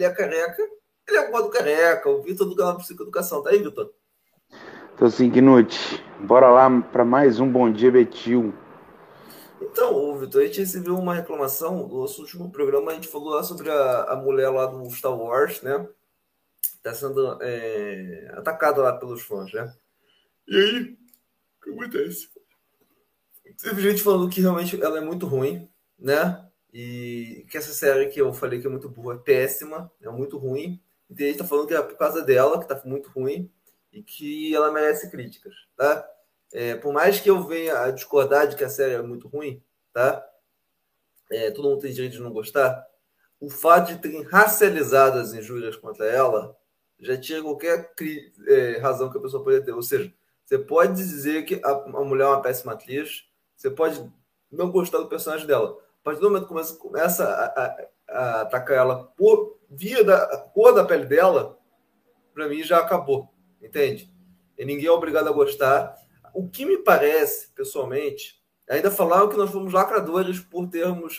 ele é careca, ele é o gordo careca, o Vitor do canal Psicoeducação. Tá aí, Vitor? Tô sim, Knut. Bora lá para mais um Bom Dia Betil. Então, ô, Vitor, a gente recebeu uma reclamação no nosso último programa, a gente falou lá sobre a mulher lá do Star Wars, né? Tá sendo atacada lá pelos fãs, né? E aí, o que acontece? Teve gente falando que realmente ela é muito ruim, né? E que essa série que eu falei que é muito boa é péssima, é muito ruim. E tem gente que tá falando que é por causa dela, que tá muito ruim, e que ela merece críticas, tá? Por mais que eu venha a discordar de que a série é muito ruim, tá? Todo mundo tem direito de não gostar. O fato de terem racializado as injúrias contra ela já tira qualquer razão que a pessoa pode ter. Ou seja, você pode dizer que a mulher é uma péssima atriz, você pode não gostar do personagem dela. A partir do momento que começa a atacar ela por via da cor da pele dela, para mim já acabou, entende? E ninguém é obrigado a gostar. O que me parece, pessoalmente, ainda falaram que nós fomos lacradores por termos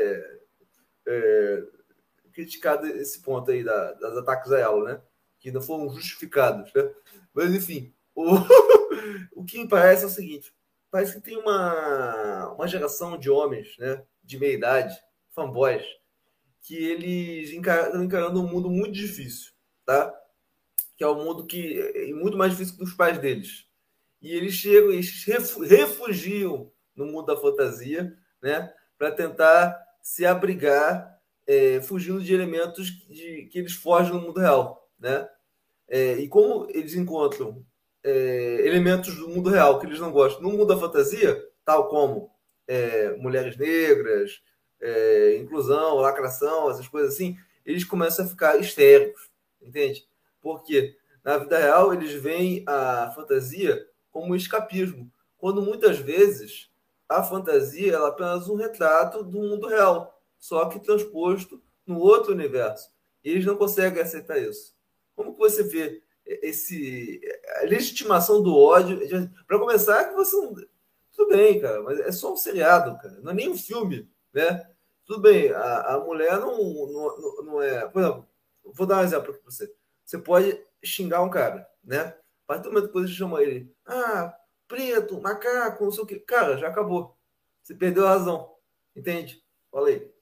é, criticado esse ponto aí das ataques a ela, né? Que não foram justificados, né? Mas, enfim, o que me parece é o seguinte: parece que tem uma geração de homens, né? De meia idade, fanboys, que eles estão encarando um mundo muito difícil, tá? Que é um mundo que é muito mais difícil que os pais deles. E eles chegam, eles refugiam no mundo da fantasia, né? Para tentar se abrigar, fugindo de elementos que eles fogem no mundo real, né? E como eles encontram elementos do mundo real que eles não gostam no mundo da fantasia, tal como mulheres negras, inclusão, lacração, essas coisas assim, eles começam a ficar histéricos, entende? Porque na vida real eles veem a fantasia como um escapismo, quando muitas vezes a fantasia ela é apenas um retrato do mundo real, só que transposto no outro universo. E eles não conseguem aceitar isso. Como que você vê a legitimação do ódio? Para começar, que você não. Tudo bem, cara, mas é só um seriado, cara. Não é nem um filme, né? Tudo bem, a mulher não é. Por exemplo, vou dar um exemplo para você. Você pode xingar um cara, né? A partir do momento que você chama ele, preto, macaco, não sei o quê. Cara, já acabou. Você perdeu a razão. Entende? Falei.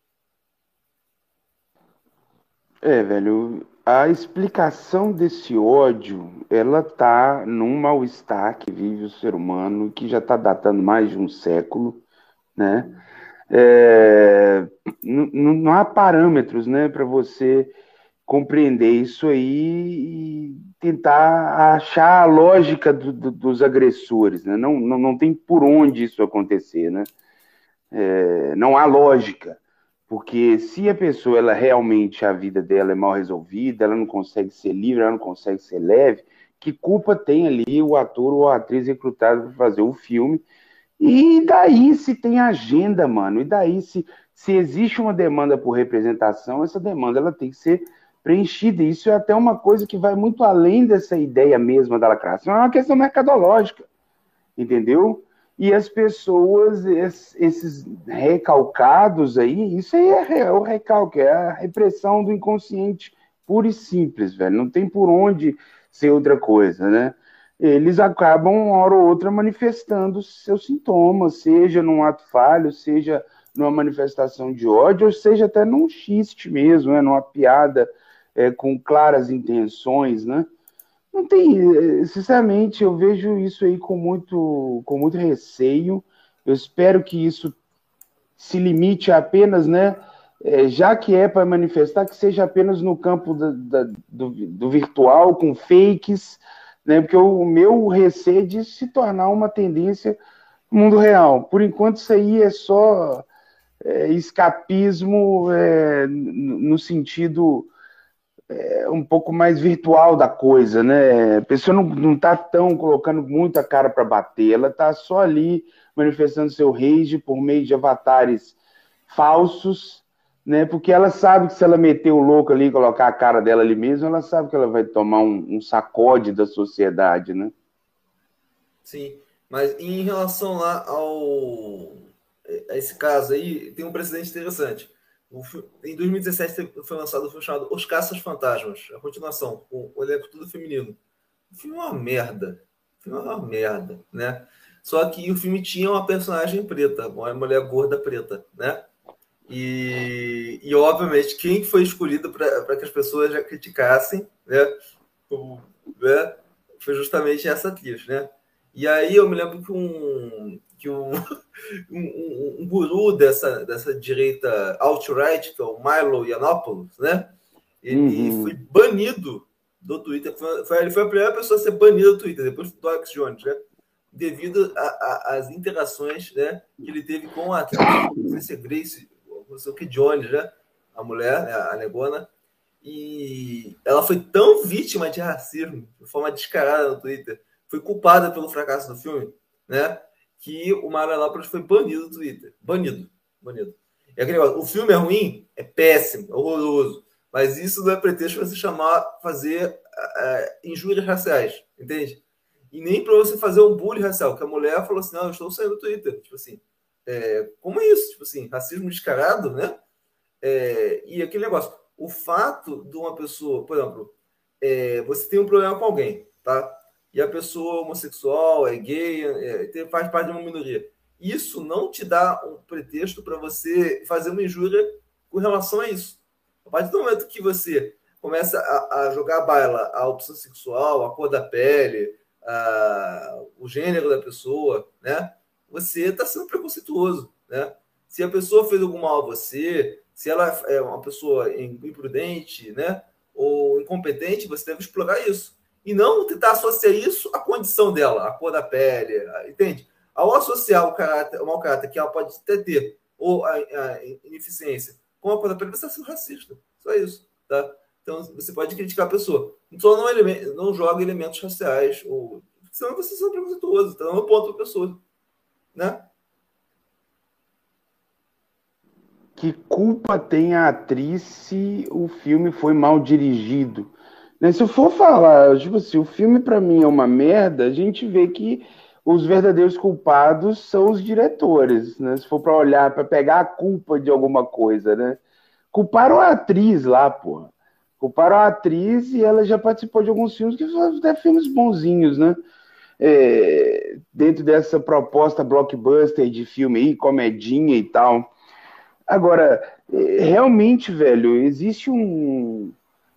Velho, a explicação desse ódio, ela tá num mal-estar que vive o ser humano, que já tá datando mais de um século, né? É, não há parâmetros, né, para você compreender isso aí e tentar achar a lógica dos agressores, né? Não tem por onde isso acontecer, né? Não há lógica, porque se a pessoa ela realmente a vida dela é mal resolvida, ela não consegue ser livre, ela não consegue ser leve, que culpa tem ali o ator ou a atriz recrutado para fazer o filme? E daí se tem agenda, mano? E daí se existe uma demanda por representação, essa demanda ela tem que ser preenchida. Isso é até uma coisa que vai muito além dessa ideia mesma da lacração, é uma questão mercadológica, entendeu? E as pessoas, esses recalcados aí, isso aí é o recalque, é a repressão do inconsciente pura e simples, velho. Não tem por onde ser outra coisa, né? Eles acabam, uma hora ou outra, manifestando seus sintomas, seja num ato falho, seja numa manifestação de ódio, ou seja até num xiste mesmo, né? Numa piada com claras intenções, né? Não tem, sinceramente, eu vejo isso aí com muito receio. Eu espero que isso se limite a apenas, né, já que é para manifestar, que seja apenas no campo do virtual, com fakes, né, porque o meu receio é de se tornar uma tendência no mundo real. Por enquanto, isso aí é só escapismo no sentido um pouco mais virtual da coisa, né? A pessoa não tá tão colocando muita cara para bater, ela tá só ali manifestando seu rage por meio de avatares falsos, né? Porque ela sabe que se ela meter o louco ali e colocar a cara dela ali mesmo, ela sabe que ela vai tomar um sacode da sociedade, né? Sim, mas em relação lá a esse caso aí, tem um precedente interessante. Em 2017 foi lançado um filme chamado Os Caças-Fantasmas, a continuação, com o elenco tudo feminino. O filme é uma merda. O filme é uma merda, né? Só que o filme tinha uma personagem preta, uma mulher gorda preta, né? E obviamente, quem foi escolhido para que as pessoas já criticassem, né? Né? Foi justamente essa atriz, né? E aí eu me lembro que um guru dessa direita alt-right, que é o Milo Yiannopoulos, né? Ele foi banido do Twitter. Ele foi a primeira pessoa a ser banida do Twitter, depois do Alex Jones, né? Devido às interações, né, que ele teve com a atriz, não sei se é Grace, não sei o que, Jones, né? A mulher, né, a negona. E ela foi tão vítima de racismo, de forma descarada no Twitter, foi culpada pelo fracasso do filme, né? Que o Milo Yiannopoulos foi banido do Twitter. Banido. E aquele negócio, o filme é ruim? É péssimo, é horroroso. Mas isso não é pretexto para você fazer injúrias raciais, entende? E nem para você fazer um bullying racial, que a mulher falou assim, não, eu estou saindo do Twitter. Tipo assim, como é isso? Tipo assim, racismo descarado, né? E aquele negócio, o fato de uma pessoa, por exemplo, você tem um problema com alguém, tá? E a pessoa homossexual, é gay, faz parte de uma minoria. Isso não te dá um pretexto para você fazer uma injúria com relação a isso. A partir do momento que você começa a jogar baila a opção sexual, a cor da pele, o gênero da pessoa, né? Você está sendo preconceituoso, né? Se a pessoa fez algum mal a você, se ela é uma pessoa imprudente, né? Ou incompetente, você deve explorar isso. E não tentar associar isso à condição dela, à cor da pele, entende? Ao associar o mau caráter que ela pode até ter, ou a ineficiência, com a cor da pele, você está sendo racista. Só isso, tá? Então, você pode criticar a pessoa. Então, não joga elementos raciais, ou senão você é preconceituoso, tá dando ponto para a pessoa, né? Que culpa tem a atriz se o filme foi mal dirigido? Né? Se eu for falar, tipo assim, o filme para mim é uma merda, a gente vê que os verdadeiros culpados são os diretores, né? Se for para olhar, para pegar a culpa de alguma coisa, né? Culparam a atriz lá, porra. Culparam a atriz e ela já participou de alguns filmes que são até filmes bonzinhos, né? Dentro dessa proposta blockbuster de filme aí, comedinha e tal. Agora, realmente, velho, existe um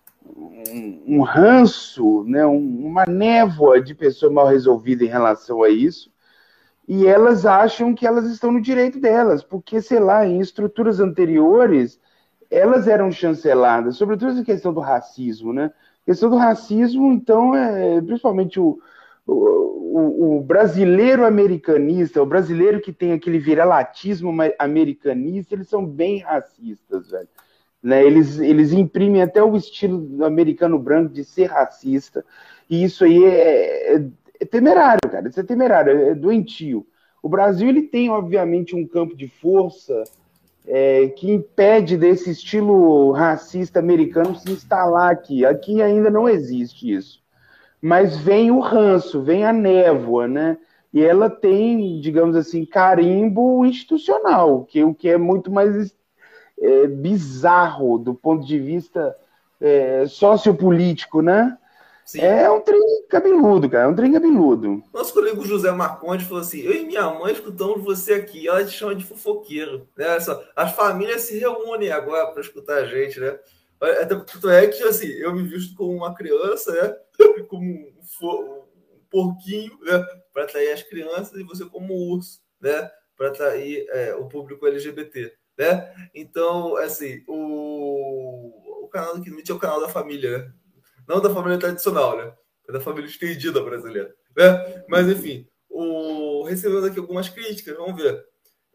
ranço, né, uma névoa de pessoa mal resolvida em relação a isso, e elas acham que elas estão no direito delas, porque, sei lá, em estruturas anteriores, elas eram chanceladas, sobretudo essa questão do racismo, né? A questão do racismo, então, principalmente o brasileiro americanista, o brasileiro que tem aquele viralatismo americanista, eles são bem racistas, velho. Né? Eles imprimem até o estilo americano branco de ser racista, e isso aí é temerário, cara. Isso é temerário, é doentio. O Brasil ele tem, obviamente, um campo de força que impede desse estilo racista americano se instalar aqui. Aqui ainda não existe isso. Mas vem o ranço, vem a névoa, né? E ela tem, digamos assim, carimbo institucional, o que é muito mais bizarro do ponto de vista sociopolítico, né? Sim. É um trem cabeludo, cara, é um trem cabeludo. Nosso colega José Marcondes falou assim, eu e minha mãe escutamos você aqui, ela te chama de fofoqueiro, né? As famílias se reúnem agora para escutar a gente, né? Tanto é que, assim, eu me visto como uma criança, né? Como um porquinho, né? Para atrair as crianças, e você como um urso, né? Para atrair o público LGBT, né? Então, assim, o canal do Kinut é o canal da família, né? Não da família tradicional, né? É da família estendida brasileira, né? Mas, enfim, recebendo aqui algumas críticas, vamos ver.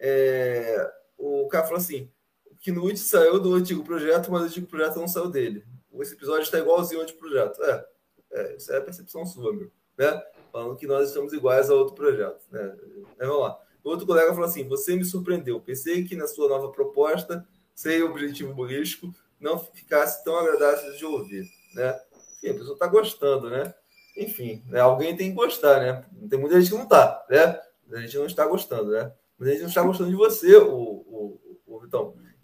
O cara falou assim, que Knut saiu do antigo projeto, mas o antigo projeto não saiu dele. Esse episódio está igualzinho ao antigo projeto. Isso é a percepção sua, meu. Né? Falando que nós estamos iguais a outro projeto. Né? Vamos lá. O outro colega falou assim, você me surpreendeu. Pensei que na sua nova proposta, sem objetivo humorístico, não ficasse tão agradável de ouvir. Né? Enfim, a pessoa está gostando, né? Enfim, né? Alguém tem que gostar, né? Tem muita gente que não está, né? A gente não está gostando, né? Mas a gente não está gostando de você, o Vitão.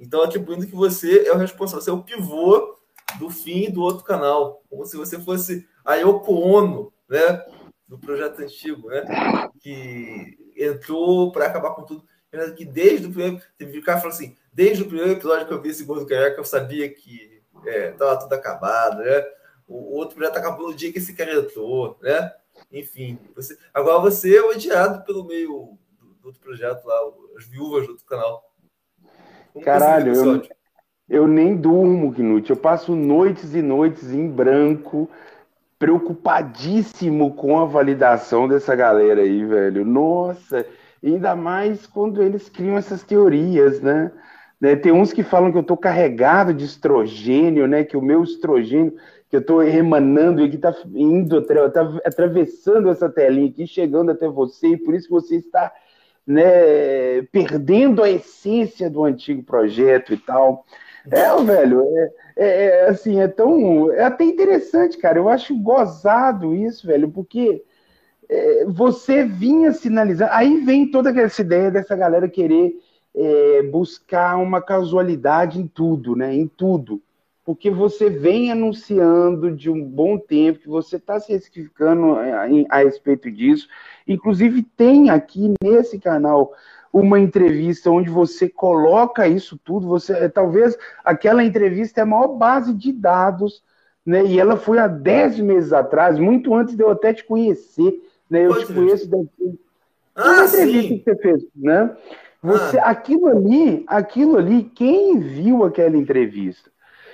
Então, atribuindo que você é o responsável, você é o pivô do fim do outro canal, como se você fosse a Yoko Ono, né, do projeto antigo, né, que entrou para acabar com tudo. Que desde o primeiro, teve um cara falando assim, desde o primeiro episódio que eu vi esse Gordo Careca, eu sabia que estava tudo acabado, né? O outro projeto acabou no dia que esse cara entrou, né? Enfim, agora você é odiado pelo meio do outro projeto lá, as viúvas do outro canal. Como você lida com esse Caralho, ódio? eu nem durmo, Knut. Eu passo noites e noites em branco, preocupadíssimo com a validação dessa galera aí, velho. Nossa, ainda mais quando eles criam essas teorias, né? Tem uns que falam que eu tô carregado de estrogênio, né? Que o meu estrogênio, que eu tô emanando e que tá indo, tá atravessando essa telinha aqui, chegando até você, e por isso você está, né, perdendo a essência do antigo projeto e tal. Velho, assim, é até interessante, cara. Eu acho gozado isso, velho, porque você vinha sinalizando. Aí vem toda essa ideia dessa galera querer buscar uma casualidade em tudo, né? Em tudo. Porque você vem anunciando de um bom tempo que você está se especificando a respeito disso. Inclusive, tem aqui nesse canal uma entrevista onde você coloca isso tudo. Talvez aquela entrevista é a maior base de dados, né? E ela foi há 10 meses atrás, muito antes de eu até te conhecer, né? Eu Qual te conheço entrevista? daqui. Uma Ah, entrevista que sim! você fez, né? Ah, Aquilo ali, quem viu aquela entrevista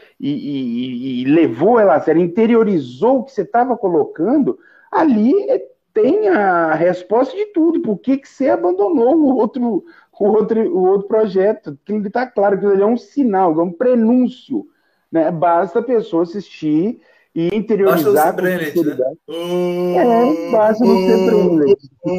e levou ela a sério, interiorizou o que você estava colocando, ali tem a resposta de tudo. Por que você abandonou o outro projeto? Aquilo está claro, que ele é um sinal, é um prenúncio, né? Basta a pessoa assistir e basta não ser interiorizar com Brenet, né? sinceridade. Basta não ser Brenet.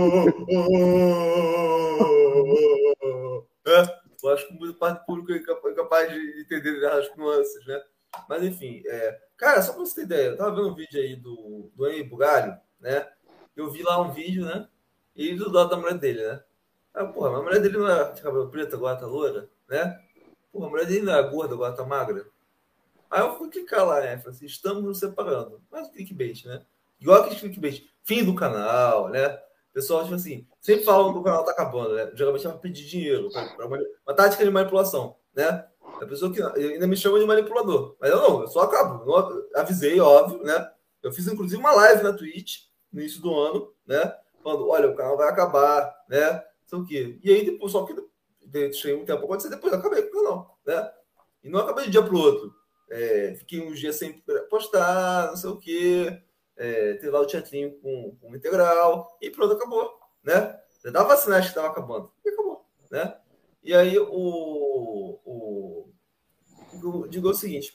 Eu acho que muito parte público é capaz de entender as nuances, né? Mas enfim, cara, só pra você ter ideia, eu tava vendo um vídeo aí do Henry Bugalho, né? Eu vi lá um vídeo, né? E do lado da mulher dele, né? Ah, porra, a mulher dele não era de cabelo preto, agora tá loura, né? Porra, a mulher dele não era gorda, agora tá magra. Aí eu fui clicar lá, né? Falei assim, estamos nos separando. Mas o clickbait, né? Igual aquele clickbait. Fim do canal, né? O pessoal, tipo assim, sempre falam que o canal tá acabando, né? Geralmente é pra pedir dinheiro, uma tática de manipulação, né? A pessoa que ainda me chama de manipulador. Mas eu não, eu só acabo. Não, avisei, óbvio, né? Eu fiz, inclusive, uma live na Twitch, no início do ano, né? Falando, olha, o canal vai acabar, né? Não sei o quê. E aí, depois, só que deixei um tempo acontecer, depois eu acabei com o canal, né? E não acabei de um dia pro outro. Fiquei uns dias sem postar, não sei o quê, ter lá o teatrinho com integral, e pronto, acabou, né? Já dava sinais que estava acabando, e acabou, né? E aí eu digo o seguinte,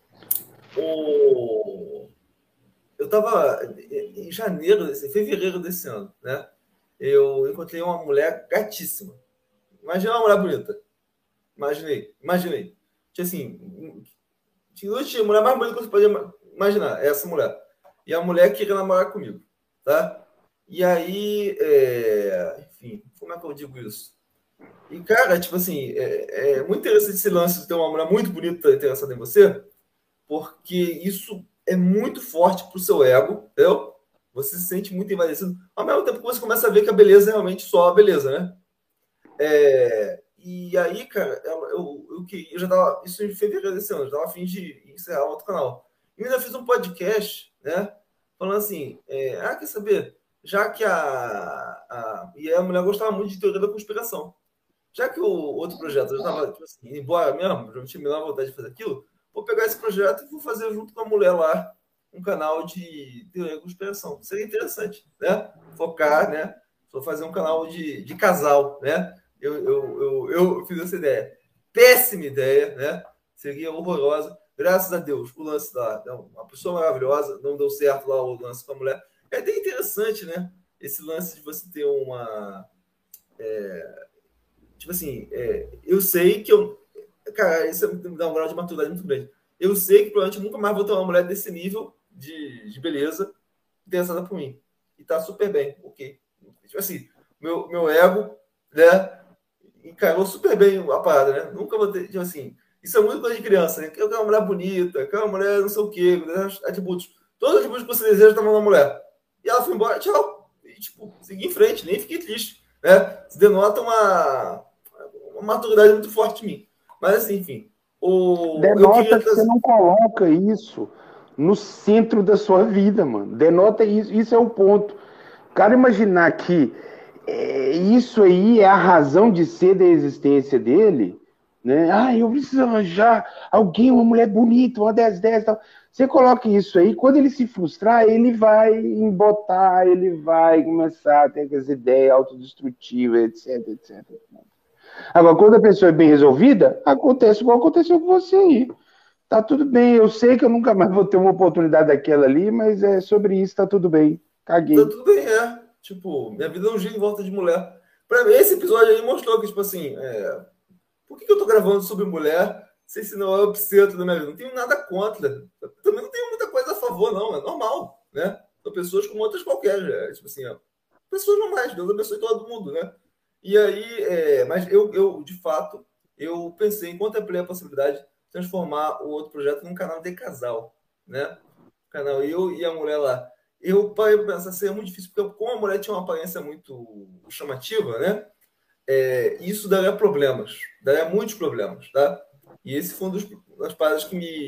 eu estava em janeiro, fevereiro desse ano, né? Eu encontrei uma mulher gatíssima. Imagina uma mulher bonita. Imaginei. Tinha assim, tinha mulher mais bonita que você podia imaginar, essa mulher. E a mulher queria namorar comigo, tá? E aí, enfim, como é que eu digo isso? E, cara, tipo assim, é muito interessante esse lance de ter uma mulher muito bonita interessada em você, porque isso é muito forte pro seu ego, entendeu? Você se sente muito envaidecido, ao mesmo tempo que você começa a ver que a beleza é realmente só a beleza, né? E aí, cara, eu já tava. Isso em fevereiro desse ano, eu tava a fim de encerrar outro canal. E eu ainda fiz um podcast, né? Falando assim: quer saber? Já que e a mulher gostava muito de teoria da conspiração. Já que o outro projeto eu tava, tipo assim, indo embora mesmo, já tinha me dado vontade de fazer aquilo, vou pegar esse projeto e vou fazer junto com a mulher lá um canal de teoria da conspiração. Seria interessante, né? Focar, né? Vou fazer um canal de casal, né? Eu fiz essa ideia. Péssima ideia, né? Seria horrorosa. Graças a Deus, o lance lá, uma pessoa maravilhosa, não deu certo lá o lance com a mulher. É até interessante, né? Esse lance de você ter uma. Tipo assim, eu sei que eu. Cara, isso me dá um grau de maturidade muito grande. Eu sei que provavelmente nunca mais vou ter uma mulher desse nível de beleza interessada por mim. E tá super bem, ok. Tipo assim, meu ego, né? encarou super bem a parada, né? Nunca vou ter, tipo assim, isso é muito coisa de criança, né? Que é uma mulher bonita, que é uma mulher não sei o quê, atributos. Todos os atributos que você deseja estavam na mulher. E ela foi embora, tchau. E, tipo, segui em frente, nem fiquei triste, né? Isso denota uma maturidade muito forte em mim. Mas, assim, enfim. Eu Denota queria que você trazer. não coloca isso no centro da sua vida, mano. Denota isso. Isso é o ponto. O cara imaginar que isso aí é a razão de ser da existência dele, né? Ah, eu preciso arranjar alguém, uma mulher bonita, uma 10 tal. Você coloca isso aí, quando ele se frustrar, ele vai embotar, ele vai começar a ter aquelas ideias autodestrutivas, etc, etc. Agora, quando a pessoa é bem resolvida, acontece igual aconteceu com você aí. Tá tudo bem, eu sei que eu nunca mais vou ter uma oportunidade daquela ali, mas é sobre isso, tá tudo bem. Tá Caguei. tudo bem, é. Tipo, minha vida não gira em volta de mulher. Pra mim, esse episódio aí mostrou que, tipo assim, por que eu tô gravando sobre mulher se esse não é o centro da minha vida? Não tenho nada contra. Eu também não tenho muita coisa a favor, não. É normal, né? São pessoas como outras qualquer. Tipo assim, pessoas normais. Deus abençoe todo mundo, né? E aí, mas de fato, eu pensei, contemplei a possibilidade de transformar o outro projeto num canal de casal, né? Canal eu e a mulher lá. Eu parei para pensar, seria muito difícil, porque como a mulher tinha uma aparência muito chamativa, né? Isso daria problemas, daria muitos problemas, tá? E esse foi das paradas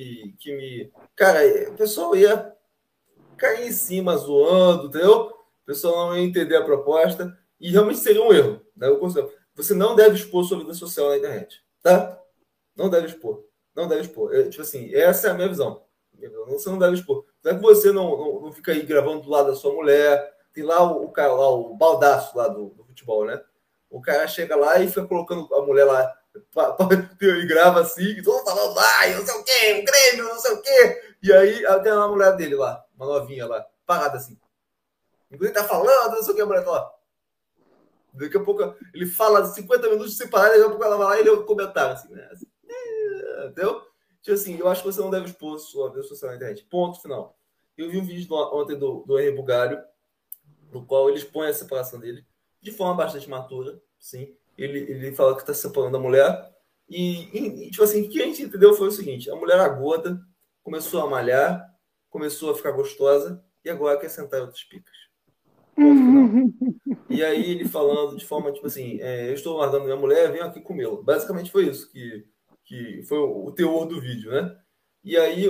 Cara, o pessoal ia cair em cima zoando, entendeu? O pessoal não ia entender a proposta e realmente seria um erro, né? Eu considero. Você não deve expor sua vida social na internet, tá? Não deve expor. Não deve expor. Tipo assim, essa é a minha visão. Você não deve expor. Não é que você não fica aí gravando do lado da sua mulher. Tem lá o cara, lá, o baldaço lá do futebol, né? O cara chega lá e fica colocando a mulher lá e grava assim, e todo mundo falando, ai, não sei o quê, o Grêmio, não sei o quê. E aí tem uma mulher dele lá, uma novinha lá, parada assim. Enquanto ele tá falando, não sei o que, a mulher tá lá. Daqui a pouco ele fala 50 minutos sem parar, daqui a pouco ela vai lá e lê o comentário, assim, né? Assim, entendeu? Tipo assim, eu acho que você não deve expor sua vida social na internet. Ponto final. Eu vi um vídeo ontem do Henri Bugalho, no qual ele expõe a separação dele de forma bastante matura, sim. Ele fala que está se separando da mulher. Tipo assim, o que a gente entendeu foi o seguinte: a mulher era gorda, começou a malhar, começou a ficar gostosa e agora quer sentar em outras picas. Ponto final. E aí ele falando de forma tipo assim: eu estou guardando minha mulher, venho aqui comê-la. Basicamente foi isso que foi o teor do vídeo, né? E aí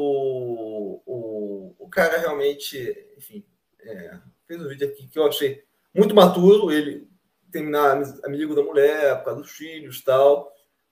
o cara realmente, enfim, fez um vídeo aqui que eu achei muito maturo, ele terminar amigo da mulher, por causa dos filhos e tal,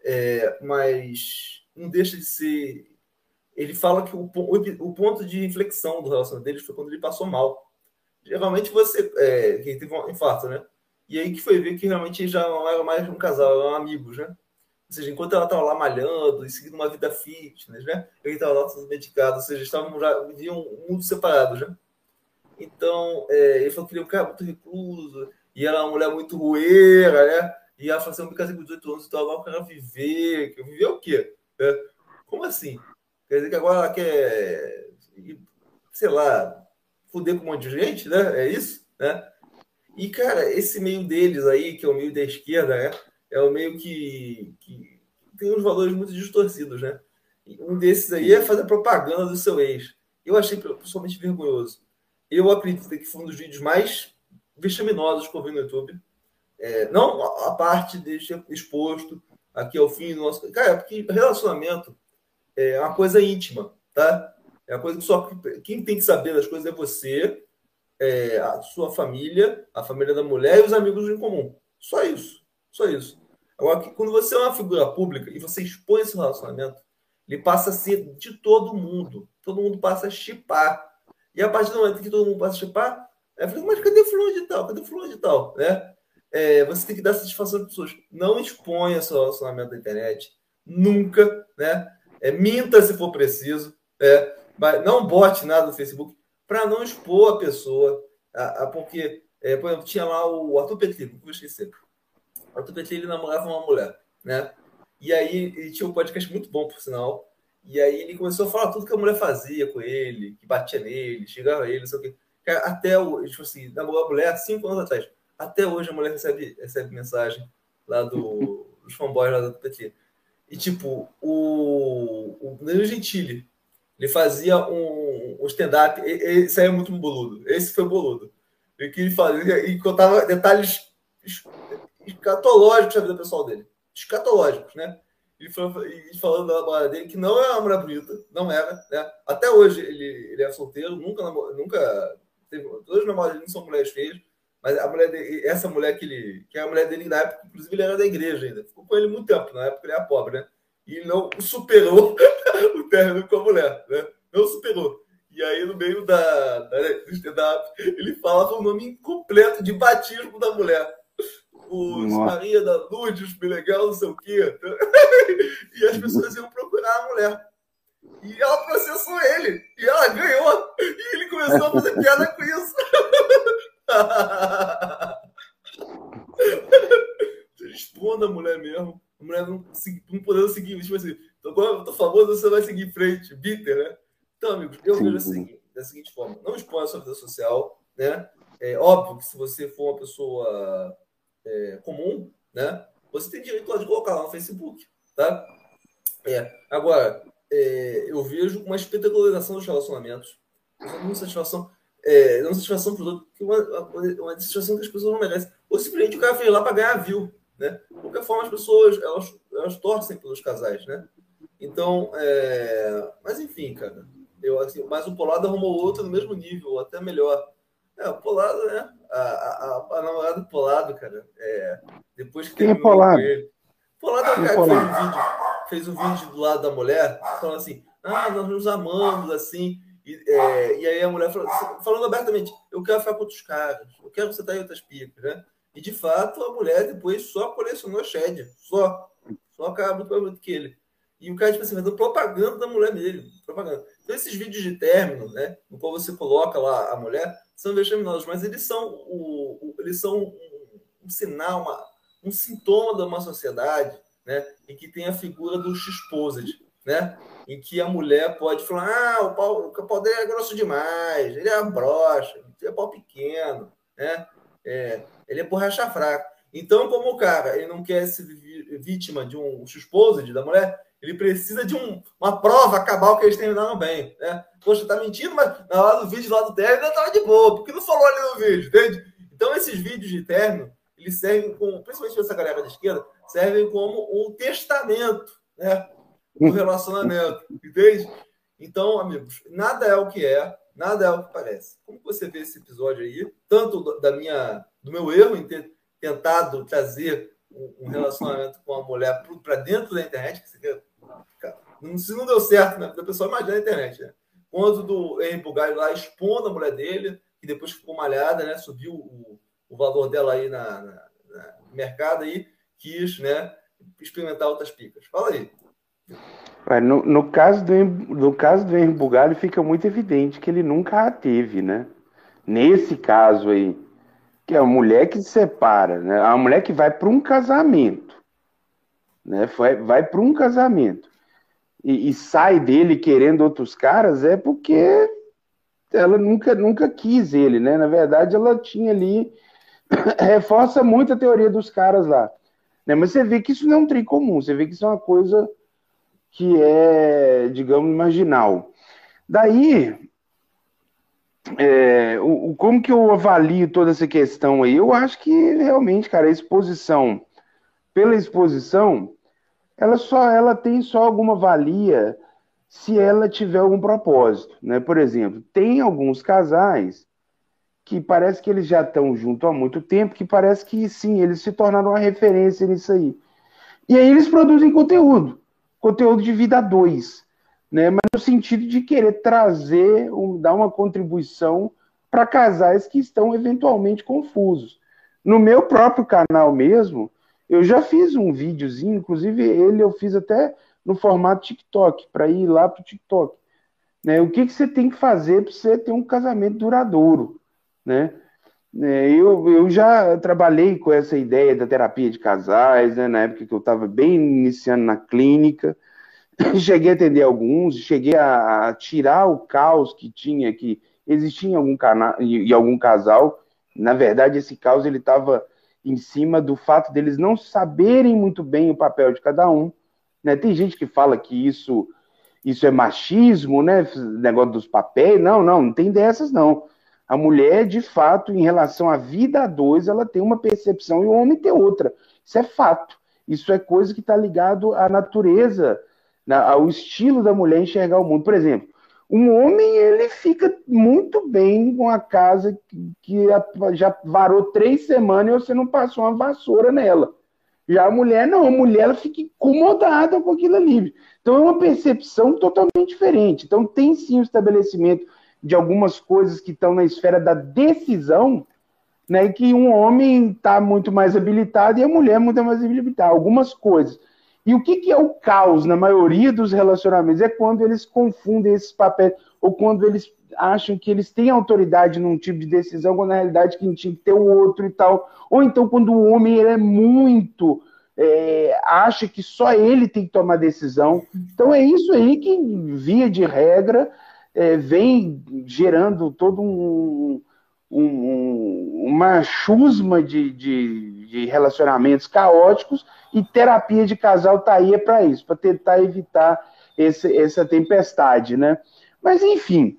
mas não deixa de ser. Ele fala que o ponto de inflexão do relacionamento deles foi quando ele passou mal. Geralmente você. Quem teve um infarto, né? E aí que foi ver que realmente já não era mais um casal, eram amigos, né? Ou seja, enquanto ela estava lá malhando e seguindo uma vida fitness, né? Ele estava lá todo medicado, ou seja, estavam já viviam um mundo separados, né? Então, ele falou que ele é um cara muito recluso, e ela é uma mulher muito rueira, né? E ela falou assim: eu me casei com 18 anos, então agora eu quero viver. Viver o quê? Como assim? Quer dizer que agora ela quer, sei lá, fuder com um monte de gente, né? É isso, né? E, cara, esse meio deles aí, que é o meio da esquerda, né? É o meio que tem uns valores muito distorcidos, né? E um desses aí é Sim. fazer propaganda do seu ex. Eu achei pessoalmente vergonhoso. Eu acredito que foi um dos vídeos mais vexaminosos que eu vi no YouTube. Não a parte de ser exposto aqui ao fim do nosso. Cara, porque relacionamento é uma coisa íntima, tá? É uma coisa que só quem tem que saber das coisas é você, a sua família, a família da mulher e os amigos em comum. Só isso. Só isso. Agora, quando você é uma figura pública e você expõe esse relacionamento, ele passa a ser de todo mundo. Todo mundo passa a chipar. E a partir do momento que todo mundo passa a chipar, mas cadê fulano de tal? Cadê fulano de tal? Né? Você tem que dar satisfação às pessoas. Não exponha seu relacionamento na internet. Nunca. Né? Minta se for preciso. Não bote nada no Facebook para não expor a pessoa, porque, por exemplo, tinha lá o Arthur Petri, não vou esquecer. O Arthur Petri, ele namorava uma mulher, né? E aí ele tinha um podcast muito bom, por sinal. E aí ele começou a falar tudo que a mulher fazia com ele, que batia nele, chegava a ele, não sei o quê. Cara, até o, tipo assim, namorou a mulher há 5 anos atrás. Até hoje a mulher recebe mensagem. lá dos fanboys lá do PT. E, tipo, o Danilo Gentili, ele fazia um stand-up, esse aí é muito boludo, esse foi boludo. E que ele fazia, e contava detalhes escatológicos da vida pessoal dele. Escatológicos, né? E falando da namorada dele, que não é uma mulher bonita, não era, né? Até hoje ele é solteiro, nunca teve. Todas as namoradas dele não são mulheres feias, mas a mulher dele, essa mulher que é a mulher dele na época, inclusive ele era da igreja ainda, ficou com ele muito tempo, na época ele era pobre, né? E ele não superou o término com a mulher, né? Não superou. E aí, no meio do stand-up, ele falava o nome completo de batismo da mulher. Maria da Lourdes, legal, não sei o quê. E as pessoas iam procurar a mulher. E ela processou ele. E ela ganhou. E ele começou a fazer piada com isso. Responda a mulher mesmo. A mulher não podendo seguir. Tipo assim, agora eu tô famoso, você vai seguir em frente. Bitter, né? Então, amigos, eu vejo da seguinte forma. Não exponha a sua vida social, né? É óbvio que se você for uma pessoa comum, né? Você tem direito de colocar lá no Facebook, tá? Agora, eu vejo uma espetacularização dos relacionamentos. Uma satisfação para os outros, uma satisfação que as pessoas não merecem. Ou simplesmente o cara fez lá para ganhar view, né? De qualquer forma, as pessoas elas torcem pelos casais, né? Então, mas enfim, cara. Mas o Polado arrumou outro no mesmo nível, até melhor. O Polado, né? A namorada do Polado, cara. Depois que terminou com ele. Polado é o cara que fez um vídeo do lado da mulher, falando assim: nós nos amamos, assim. E aí a mulher falando abertamente: eu quero ficar com outros caras, eu quero que você tá em outras picas, né? E de fato a mulher depois só colecionou Shed, só cara muito mais bonito que ele. E o cara, tipo assim, fazendo propaganda da mulher dele. Propaganda. Então, esses vídeos de término, né? No qual você coloca lá a mulher, são vexaminosos, mas eles são um sinal, um sintoma de uma sociedade, né? Em que tem a figura do X-Posed, né? Em que a mulher pode falar: o pau dele é grosso demais, ele é broxa, ele é pau pequeno, né? Ele é borracha fraca. Então, como o cara ele não quer ser vítima de um X-Posed da mulher, ele precisa de uma prova cabal que eles terminaram bem, né? Poxa, tá mentindo, mas na hora do vídeo lá do término ainda tava de boa, porque não falou ali no vídeo, entende? Então, esses vídeos de término, eles servem principalmente essa galera da esquerda, servem como um testamento, né? Do relacionamento, entende? Então, amigos, nada é o que é, nada é o que parece. Como você vê esse episódio aí, tanto do meu erro em ter tentado trazer um relacionamento com a mulher para dentro da internet, que se não deu certo, né? O pessoal imagina a internet, né? Quanto do Henry Bugalho lá expondo a mulher dele, que depois ficou malhada, né? Subiu o valor dela aí no mercado aí, quis, né? Experimentar outras picas. Fala aí. No caso do Henry Bugalho, fica muito evidente que ele nunca a teve, né? Nesse caso aí, que é a mulher que se separa, né? A mulher que vai para um casamento, né? Vai para um casamento e sai dele querendo outros caras, é porque ela nunca quis ele, né? Na verdade, ela tinha ali reforça muito a teoria dos caras lá, né? Mas você vê que isso não é um trem comum, você vê que isso é uma coisa que é, digamos, marginal. Daí, como que eu avalio toda essa questão aí? Eu acho que realmente, cara, pela exposição, ela tem só alguma valia se ela tiver algum propósito, né? Por exemplo, tem alguns casais que parece que eles já estão juntos há muito tempo, que parece que sim, eles se tornaram uma referência nisso aí. E aí eles produzem conteúdo de vida a dois, né? Mas no sentido de querer trazer, dar uma contribuição para casais que estão eventualmente confusos. No meu próprio canal mesmo, eu já fiz um videozinho, inclusive eu fiz até no formato TikTok, para ir lá para o TikTok. Né? O que você tem que fazer para você ter um casamento duradouro, né? Eu já trabalhei com essa ideia da terapia de casais, né, na época que eu estava bem iniciando na clínica. Cheguei a atender alguns, cheguei a tirar o caos que existia em algum casal. Na verdade, esse caos ele estava em cima do fato deles não saberem muito bem o papel de cada um, né? Tem gente que fala que isso é machismo, né? Negócio dos papéis. Não tem dessas, não. A mulher, de fato, em relação à vida a dois, ela tem uma percepção e o homem tem outra. Isso é fato. Isso é coisa que está ligado à natureza, ao estilo da mulher enxergar o mundo. Por exemplo, um homem, ele fica muito bem com a casa que já varou 3 semanas e você não passou uma vassoura nela. Já a mulher, não. A mulher, ela fica incomodada com aquilo ali. Então, é uma percepção totalmente diferente. Então, tem sim o estabelecimento de algumas coisas que estão na esfera da decisão, né, que um homem está muito mais habilitado e a mulher muito mais habilitada. Algumas coisas. E o que é o caos na maioria dos relacionamentos? É quando eles confundem esses papéis, ou quando eles acham que eles têm autoridade num tipo de decisão, quando na realidade quem tinha que ter o outro e tal. Ou então quando o homem ele é muito... acha que só ele tem que tomar decisão. Então é isso aí que, via de regra, vem gerando todo uma chusma de relacionamentos caóticos, e terapia de casal tá aí para isso, para tentar evitar essa tempestade, né? Mas, enfim,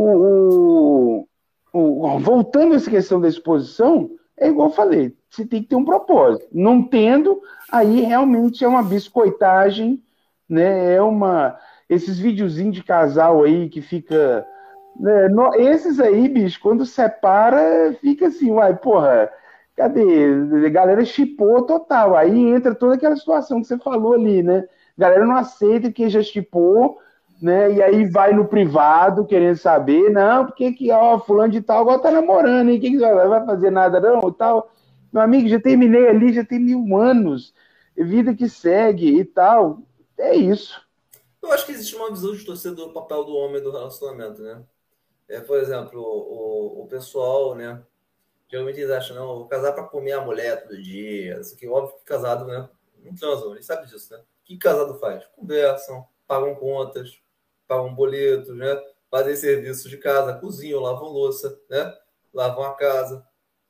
voltando a essa questão da exposição, é igual eu falei, você tem que ter um propósito. Não tendo, aí realmente é uma biscoitagem, né? Esses videozinhos de casal aí que fica... né? Esses aí, bicho, quando separa, fica assim, uai, porra, cadê? A galera chipou total. Aí entra toda aquela situação que você falou ali, né? A galera não aceita que já chipou, né? E aí vai no privado querendo saber, não, porque que, ó, fulano de tal agora tá namorando, hein? Que vai fazer nada não, e tal. Meu amigo, já terminei ali, já tem 1000 anos, vida que segue e tal. É isso. Eu acho que existe uma visão distorcida do papel do homem no relacionamento, né? Por exemplo, o pessoal, né? Geralmente eles acham, não, vou casar para comer a mulher todo dia. Isso aqui, óbvio que casado, né? Não transam, eles sabem disso, né? O que casado faz? Conversam, pagam contas, pagam boletos, né? Fazem serviços de casa, cozinham, lavam louça, né? Lavam a casa,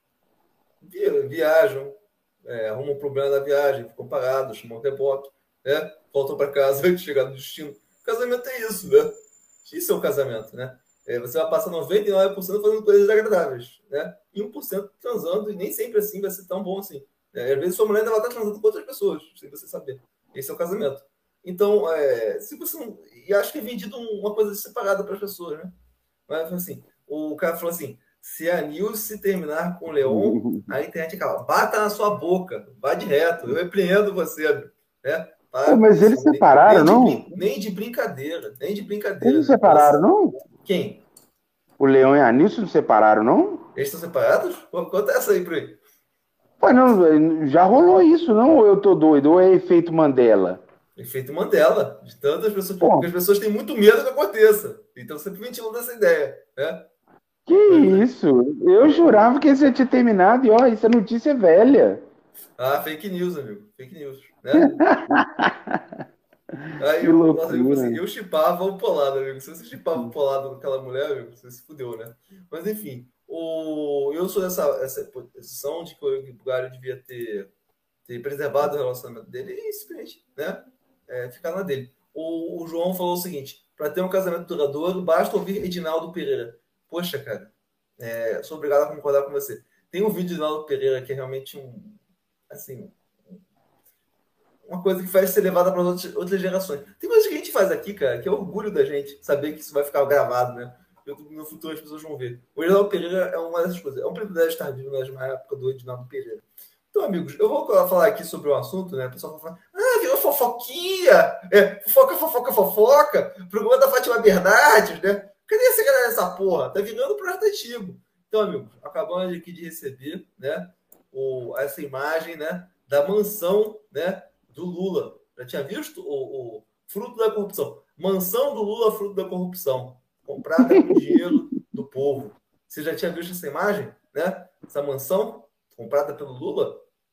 viajam, arrumam um problema da viagem, ficam parados, chamam um reboque, né? Voltam para casa antes de chegar no destino. Casamento é isso, né? Isso é o casamento, né? Você vai passar 99% fazendo coisas agradáveis, né? E 1% transando, e nem sempre assim vai ser tão bom assim. Às vezes sua mulher ainda vai estar transando com outras pessoas, sem você saber. Esse é o casamento. Então, se você não... E acho que é vendido uma coisa separada para as pessoas, né? Mas assim, o cara falou assim, se a Nilce terminar com o Leon, a internet acaba. Bata na sua boca, vá de reto, eu repreendo você, né? Pô, mas eles separaram, não? Nem de brincadeira, nem de brincadeira. Eles separaram, não? Quem? O Leão e a Nilce não separaram, não? Eles estão separados? Conta essa aí pra ele. Pô, não, já rolou isso, não? Ou eu tô doido? Ou é efeito Mandela? Efeito Mandela, de tantas pessoas. Porque as pessoas têm muito medo que aconteça. Então sempre ventilando essa ideia, né? Que isso? Eu jurava que esse já tinha terminado e, ó, essa notícia é velha. Ah, fake news, amigo. Fake news, né? Aí Que loucura. eu chipava o Polado, amigo. Se você chipava o Polado com aquela mulher, amigo, você se fudeu, né? Mas enfim, eu sou essa posição de que o Bulgário devia ter preservado o relacionamento dele e simplesmente, né? Ficar na dele. O João falou o seguinte: para ter um casamento duradouro, basta ouvir Edinaldo Pereira. Poxa, cara, sou obrigado a concordar com você. Tem um vídeo de Edinaldo Pereira que é realmente assim, uma coisa que faz ser levada para outras gerações. Tem coisas que a gente faz aqui, cara, que é orgulho da gente saber que isso vai ficar gravado, né? No futuro as pessoas vão ver. O Edinaldo Pereira é uma dessas coisas. É um privilégio estar vivo na mesma época do Edinaldo Pereira. Então, amigos, eu vou falar aqui sobre o assunto, né? O pessoal vai falar, virou fofoquinha! Fofoca! Programa da Fátima Bernardes, né? Cadê essa galera dessa porra? Tá virando projeto antigo. Então, amigos, acabamos aqui de receber, né? Essa imagem, né? Da mansão, né? Do Lula. Já tinha visto o fruto da corrupção? Mansão do Lula, fruto da corrupção. Comprada com dinheiro do povo. Você já tinha visto essa imagem, né? Essa mansão comprada pelo Lula?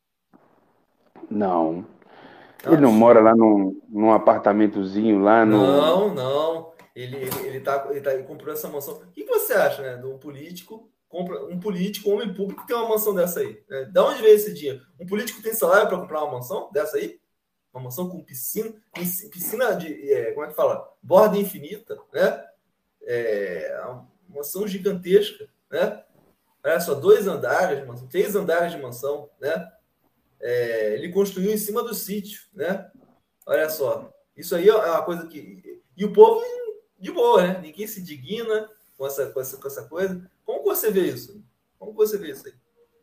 Não. Ele não mora lá num apartamentozinho lá no... Não. Ele comprou essa mansão. O que você acha, né? De um político compra um político, um homem público, que tem uma mansão dessa aí? Né? Da onde veio esse dinheiro? Um político tem salário para comprar uma mansão dessa aí? Uma mansão com piscina de, como é que fala? Borda infinita, né? Uma mansão gigantesca, né? Olha só, 2 andares de mansão, 3 andares de mansão, né? Ele construiu em cima do sítio, né? Olha só, isso aí é uma coisa que... E o povo, de boa, né? Ninguém se indigna com essa coisa. Como você vê isso? Como você vê isso aí?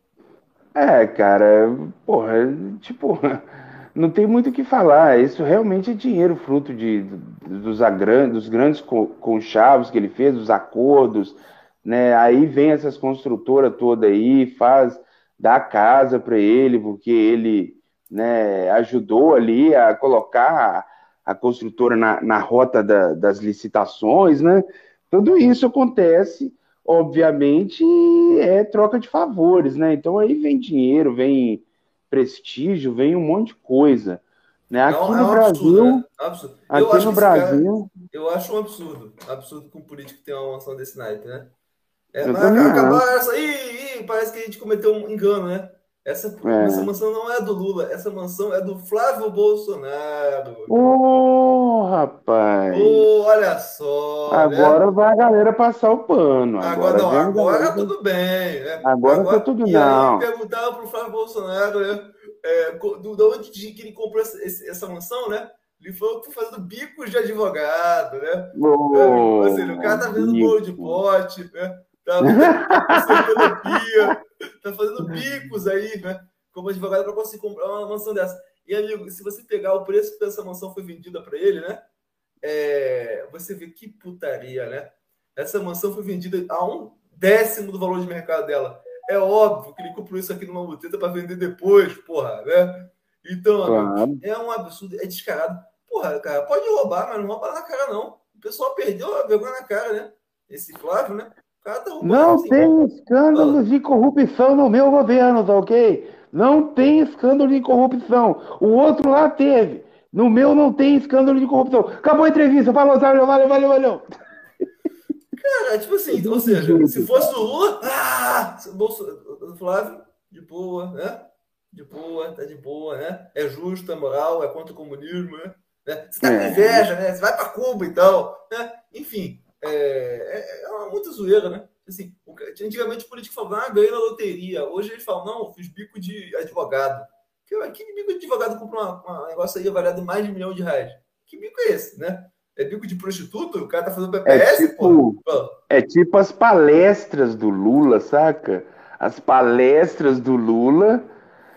Cara, porra, tipo, não tem muito o que falar. Isso realmente é dinheiro fruto dos grandes conchavos que ele fez, dos acordos, né? Aí vem essas construtoras toda aí, dá casa para ele, porque ele, né, ajudou ali a colocar a construtora na rota das licitações, né? Tudo isso acontece, obviamente, é troca de favores, né? Então aí vem dinheiro, vem prestígio, vem um monte de coisa, né? É um absurdo, né? É um absurdo. Eu Aqui acho no que esse cara, Brasil, eu acho um absurdo. Absurdo que um político tenha uma mansão desse naipe, né? eu Mas também acabar acho. essa aí, parece que a gente cometeu um engano, né? Essa É. mansão não é do Lula, essa mansão é do Flávio Bolsonaro. Ô, rapaz, Oh, olha só, né? agora vai a galera passar o pano. Agora Agora não, vem a galera. agora tudo bem, né? Agora tá Agora, tudo e aí não. perguntaram para o Flávio Bolsonaro, né? De onde que ele comprou essa mansão, né? Ele falou que foi fazendo bicos de advogado, né? Ou seja, o cara Ô, tá vendo bolo de bico. pote, né? Tá consertando pia, tá fazendo bicos aí, né? Como advogado para conseguir comprar uma mansão dessa. E, amigo, se você pegar o preço que essa mansão foi vendida para ele, né? Você vê que putaria, né? Essa mansão foi vendida a 1/10 do valor de mercado dela. É óbvio que ele comprou isso aqui numa muteta para vender depois, porra, né? Então, amigo, Claro. é um absurdo, é descarado. Porra, cara, pode roubar, mas não rouba na cara, não. O pessoal perdeu a vergonha na cara, né? Esse Flávio, né? O cara tá roubando, Não assim. tem escândalo Fala. de corrupção no meu governo, tá ok? Não tem escândalo de corrupção. O outro lá teve. No meu não tem escândalo de corrupção. Acabou a entrevista. Falou, valeu, valeu, valeu, valeu. Cara, tipo assim, ou Desse seja, se jeito, fosse o cara. Lula, Flávio, de boa, né? De boa, tá de boa, né? É justo, é moral, é contra o comunismo, né? Você tá com É. inveja, né? Você vai pra Cuba e tal, né? Enfim, uma muita zoeira, né? Assim, antigamente o político falava, ganhei na loteria. Hoje eles falam, não, fiz bico de advogado. Que bico de advogado compra um negócio aí avaliado em mais de R$ 1 milhão? Que bico é esse, né? É bico de prostituto? O cara tá fazendo É PPS, porra? tipo, é tipo as palestras do Lula, saca? As palestras do Lula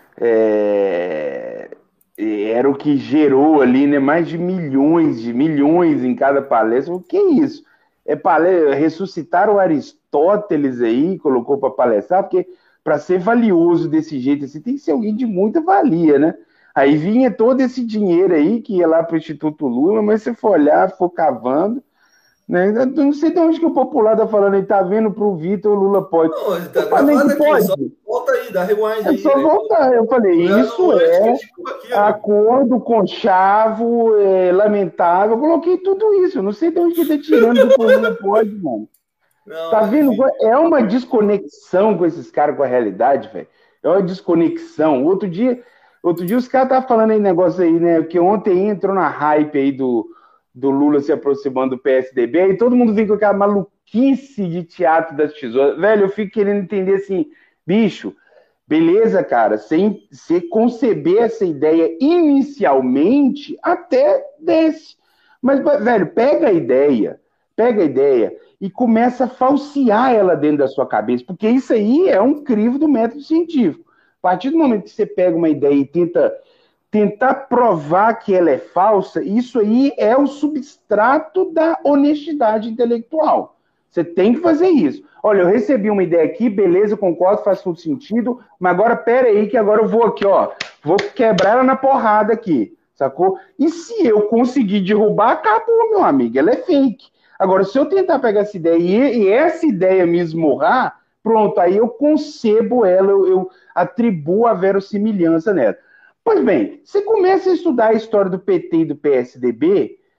é, era o que gerou ali, né, mais de milhões em cada palestra. O que é isso? Ressuscitar o Aristóteles aí, colocou para palestrar, porque para ser valioso desse jeito assim, tem que ser alguém de muita valia, né? Aí vinha todo esse dinheiro aí que ia lá para o Instituto Lula, mas se for olhar, for cavando, né? Eu não sei de onde que o popular tá falando aí, tá vendo pro Vitor, o Lula pode. Não, ele Eu tá falei gravado que aqui, pode. só volta aí, dá rewind É aí, só né? voltar. Eu falei, isso Antes que a é gente ficou aqui, amigo. acordo conchavo, lamentável. Eu coloquei tudo isso. Eu não sei de onde que ele tá tirando que o povo não pode, mano. Não, Tá mas vendo? enfim. É uma desconexão com esses caras com a realidade, velho. É uma desconexão. Outro dia os caras estavam falando aí negócio aí, né? Que ontem entrou na hype aí do Lula se aproximando do PSDB, aí todo mundo vem com aquela maluquice de teatro das tesouras. Velho, eu fico querendo entender assim, bicho, beleza, cara, sem você conceber essa ideia inicialmente, até desce. Mas, velho, pega a ideia e começa a falsear ela dentro da sua cabeça, porque isso aí é um crivo do método científico. A partir do momento que você pega uma ideia e tentar provar que ela é falsa, isso aí é o substrato da honestidade intelectual. Você tem que fazer isso. Olha, eu recebi uma ideia aqui, beleza, concordo, faz todo sentido, mas agora pera aí que agora eu vou aqui, ó, vou quebrar ela na porrada aqui, sacou? E se eu conseguir derrubar, acabou, meu amigo, ela é fake. Agora, se eu tentar pegar essa ideia e essa ideia me esmurrar, pronto, aí eu concebo ela, eu atribuo a verossimilhança nela. Pois bem, você começa a estudar a história do PT e do PSDB,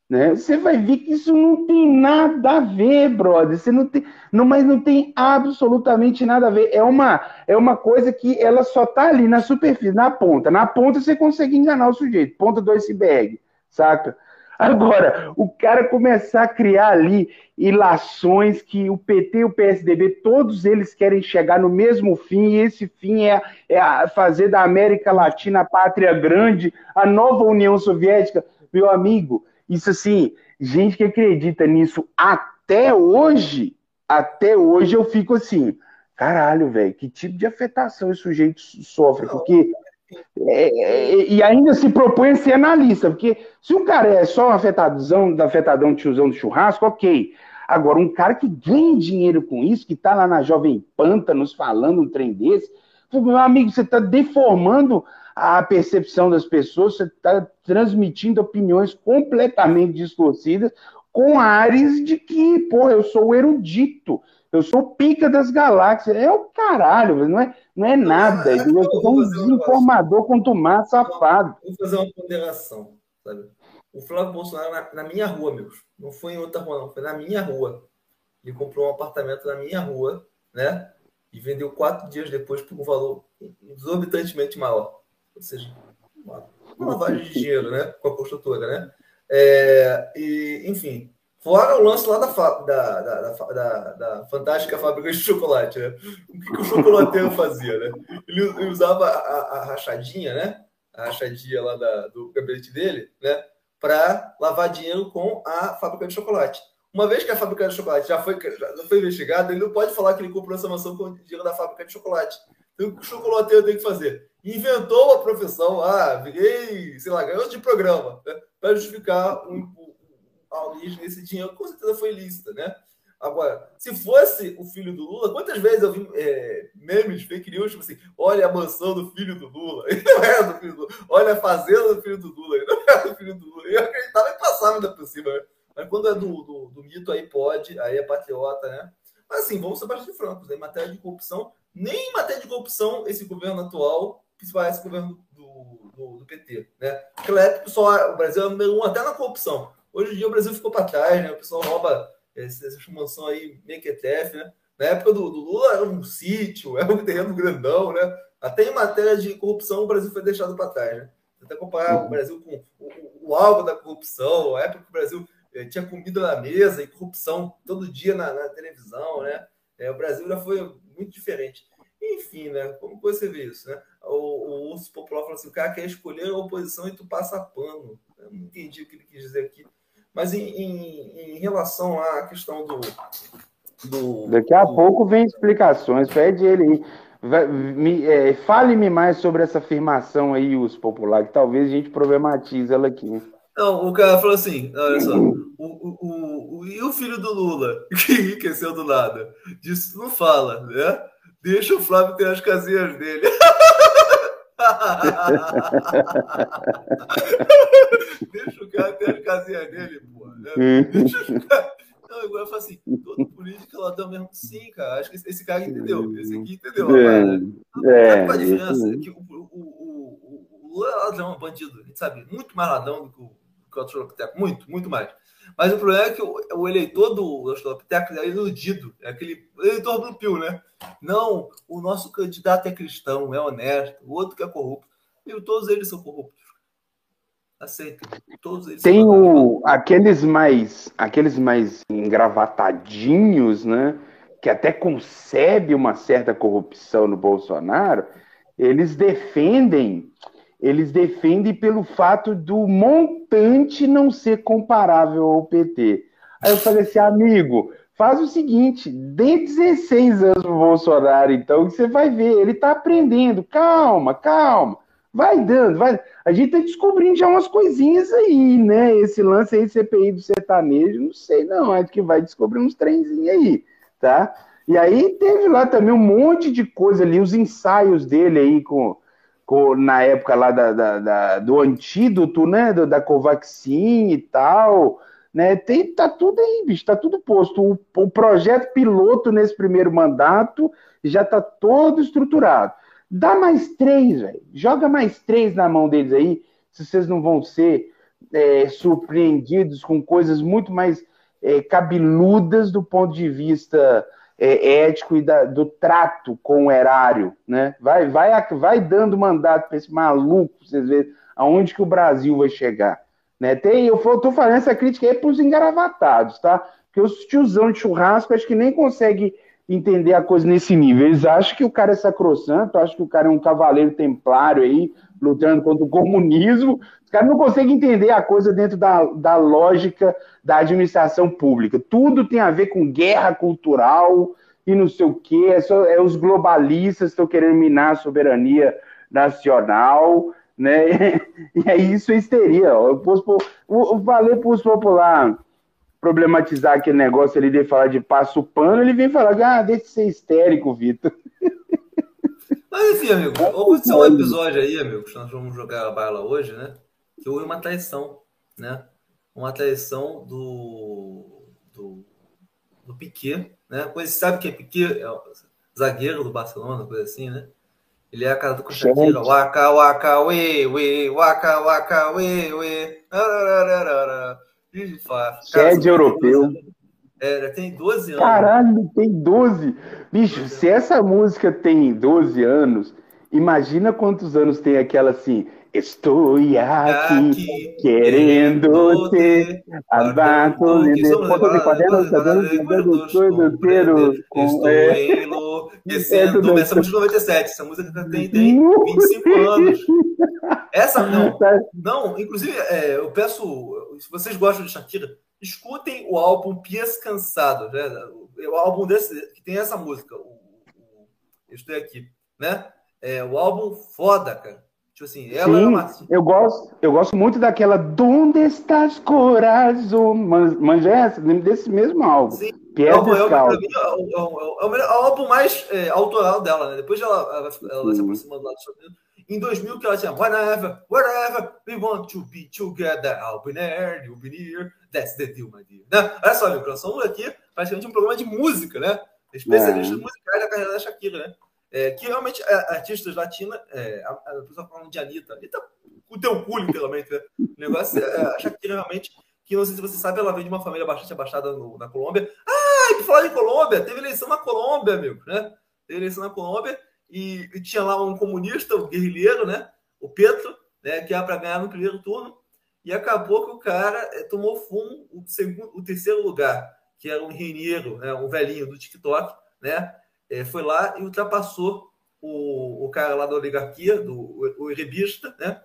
né? Você vai ver que isso não tem nada a ver, brother. Você não tem, não, mas não tem absolutamente nada a ver. É uma coisa que ela só tá ali na superfície, na ponta. Na ponta você consegue enganar o sujeito, ponta do iceberg, saca? Agora, o cara começar a criar ali ilações que o PT e o PSDB, todos eles querem chegar no mesmo fim, e esse fim é fazer da América Latina a pátria grande, a nova União Soviética. Meu amigo, isso assim, gente que acredita nisso até hoje eu fico assim, caralho, velho, que tipo de afetação esse sujeito sofre, Não, porque e ainda se propõe a ser analista, porque se um cara é só um afetadão, tiozão do churrasco, ok. Agora, um cara que ganha dinheiro com isso, que tá lá na Jovem Pan, nos falando um trem desse, meu amigo, você está deformando a percepção das pessoas, você está transmitindo opiniões completamente distorcidas, com ares de que, pô, eu sou o erudito, eu sou o pica das galáxias. É o caralho, não é nada. acho que Você eu é vou um fazer um negócio. desinformador quanto mais safado. Vou fazer uma ponderação, sabe? O Flávio Bolsonaro na minha rua, meus. Não foi em outra rua, não. Foi na minha rua. Ele comprou um apartamento na minha rua, né? E vendeu 4 dias depois por um valor exorbitantemente maior. Ou seja, uma lavagem de dinheiro, né? Com a construtora, né? Enfim, fora o lance lá da fantástica fábrica de chocolate, né? O que o chocolateiro fazia, né? Ele usava a rachadinha, né? A rachadinha lá do gabinete dele, né? Para lavar dinheiro com a fábrica de chocolate. Uma vez que a fábrica de chocolate já foi investigada, ele não pode falar que ele comprou essa mansão com o dinheiro da fábrica de chocolate. Então, o que o chocolateiro tem que fazer? Inventou uma profissão, virei, sei lá, garoto de programa, né? Para justificar a origem desse dinheiro, com certeza foi ilícita, né? Agora, se fosse o filho do Lula, quantas vezes eu vi memes, fake news, tipo assim, olha a mansão do filho do Lula, ele não era do filho do Lula, olha a fazenda do filho do Lula, ele não era do filho do Lula, eu acreditava e passava ainda por cima, né? Mas quando é do mito, aí pode, aí é patriota, né? Mas assim, vamos ser bastante francos, né? Em matéria de corrupção, nem em matéria de corrupção, esse governo atual, que parece o governo do PT, né? Naquela época, o Brasil era o número 1 até na corrupção. Hoje em dia o Brasil ficou para trás, né? O pessoal rouba essa mansão aí, mequetrefe, né? Na época do Lula era um sítio, era um terreno grandão, né? Até em matéria de corrupção o Brasil foi deixado para trás, né? Até comparar o Brasil com o alvo da corrupção, a época que o Brasil tinha comida na mesa e corrupção todo dia na televisão, né? O Brasil já foi muito diferente. Enfim, né? Como você vê isso, né? O urso popular falou assim, o cara quer escolher a oposição e tu passa pano. Eu não entendi o que ele quis dizer aqui. Mas em relação à questão Daqui a pouco vem explicações, pede ele aí. Fale-me mais sobre essa afirmação aí, urso popular, que talvez a gente problematize ela aqui. Não, o cara falou assim, olha só, e o filho do Lula, que enriqueceu do nada? Disso não fala, né? Deixa o Flávio ter as casinhas dele. Deixa o cara ter as casinhas dele, pô. Né? Deixa o cara... Não, agora eu falo assim, todo político é ladrão mesmo. Sim, cara, acho que esse cara entendeu. Esse aqui entendeu. Sabe qual a diferença? Que o Lula é ladrão, é bandido. A gente sabe, muito mais ladrão do que o Australopiteco. Muito, muito mais. Mas o problema é que o eleitor do Australopiteco é iludido. É aquele eleitor do Pio, né? Não, o nosso candidato é cristão, é honesto. O outro que é corrupto. E todos eles são corruptos. Aceita. Todos eles tem aqueles mais engravatadinhos, né? Que até concebe uma certa corrupção no Bolsonaro. Eles defendem pelo fato do montante não ser comparável ao PT. Aí eu falei assim, amigo, faz o seguinte, dê 16 anos pro Bolsonaro, então, que você vai ver, ele tá aprendendo, calma, vai dando, vai. A gente tá descobrindo já umas coisinhas aí, né? Esse lance aí, CPI do sertanejo, não sei não, acho que vai descobrir uns trenzinhos aí, tá? E aí teve lá também um monte de coisa ali, os ensaios dele aí na época lá do antídoto, né, da Covaxin e tal, né, tá tudo aí, bicho, tá tudo posto. O projeto piloto nesse primeiro mandato já tá todo estruturado. Dá mais 3, velho, joga mais 3 na mão deles aí, se vocês não vão ser surpreendidos com coisas muito mais cabeludas do ponto de vista ético e do trato com o erário, né? Vai dando mandato para esse maluco, pra vocês verem aonde que o Brasil vai chegar. Né? Eu estou falando essa crítica aí para os engaravatados, tá? Porque os tiozão de churrasco acho que nem consegue entender a coisa nesse nível. Eles acham que o cara é sacrossanto, acham que o cara é um cavaleiro templário aí, lutando contra o comunismo. Os caras não conseguem entender a coisa dentro da lógica da administração pública. Tudo tem a ver com guerra cultural e não sei o quê. Os globalistas estão querendo minar a soberania nacional, né? E aí isso é histeria. Eu falei para os populares problematizar aquele negócio ali de falar de passo pano, ele vem falar, deixa de ser histérico, Vitor. Mas enfim, amigo, vamos ter um episódio aí, amigos, nós vamos jogar a bala hoje, né? Que houve uma traição, né? Uma traição do Piqué, né? Você sabe que é Piqué? É o zagueiro do Barcelona, coisa assim, né? Ele é a cara do Shakira. Waka, waka, we, waka, waka, we. Sede europeu. Tem 12 anos. Caralho, tem 12. Bicho, se essa música tem 12 anos, imagina quantos anos tem aquela assim. Estou aqui querendo ter abato de enlouquecendo. Essa música de 97, essa música tem 25 anos. Essa não, inclusive eu peço, se vocês gostam de Shakira, escutem o álbum Pies Cansado, né? O álbum desse que tem essa música, eu estou aqui, né? O álbum foda, cara. Tipo assim, eu gosto muito daquela Donde Estás Corazón, manja essa, desse mesmo álbum. Sim, é o melhor álbum mais autoral dela, né? Depois ela se aproximando lá do Estados Unidos. Em 2000 que ela tinha Whenever we want to be together, I'll be there, you'll be near, that's the deal, my dear. Né? Olha só, amigo, nós somos aqui praticamente um programa de música, né? Especialistas musicais da carreira da Shakira, né? Que realmente artistas latinas, a pessoa falando de Anitta o teu cu, literalmente, né? O negócio a Shakira realmente, que não sei se você sabe, ela vem de uma família bastante abastada na Colômbia. E por falar em Colômbia, teve eleição na Colômbia, amigo, né? Teve eleição na Colômbia e tinha lá um comunista, um guerrilheiro, né? O Petro, né? Que era para ganhar no primeiro turno, e acabou que o cara tomou fumo o terceiro lugar, que era um engenheiro, né? Um velhinho do TikTok, né? Foi lá e ultrapassou o cara lá da oligarquia, o erebista, né?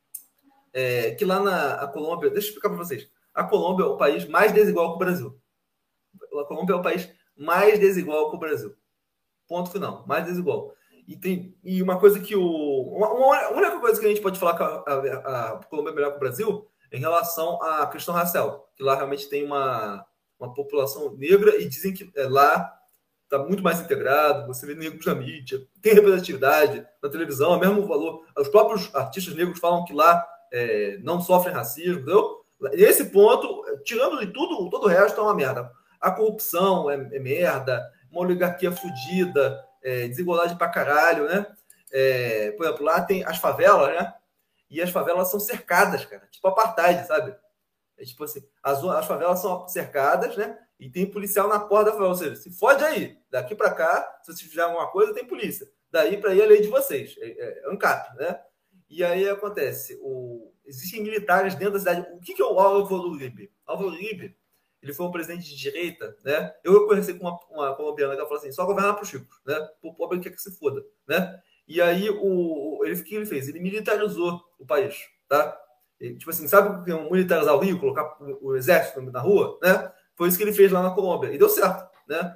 Que lá na Colômbia, deixa eu explicar para vocês, a Colômbia é o país mais desigual que o Brasil. A Colômbia é o país mais desigual que o Brasil. Ponto final, mais desigual. E uma coisa que a única coisa que a gente pode falar que a Colômbia é melhor que o Brasil é em relação à questão racial, que lá realmente tem uma população negra e dizem que lá está muito mais integrado, você vê negros na mídia, tem representatividade na televisão, é o mesmo valor. Os próprios artistas negros falam que lá não sofrem racismo, entendeu? Nesse ponto, tirando de tudo, todo o resto é uma merda. A corrupção é merda, uma oligarquia fodida, desigualdade pra caralho, né? Por exemplo, lá tem as favelas, né? E as favelas são cercadas, cara. Tipo apartheid, sabe? Tipo assim, as favelas são cercadas, né? E tem policial na porta da favela. Ou seja, se fode aí. Daqui pra cá, se você fizer alguma coisa, tem polícia. Daí pra aí a lei de vocês. É ANCAP, né? E aí acontece, existem militares dentro da cidade. O que é o Álvaro Uribe? Álvaro Uribe, ele foi um presidente de direita, né? Eu conheci com uma colombiana que ela falou assim, só governar para os ricos, né? O pobre quer que se foda, né? E aí, o que ele fez? Ele militarizou o país, tá? Tipo assim, sabe o que é militarizar o Rio, colocar o exército na rua, né? Foi isso que ele fez lá na Colômbia. E deu certo, né?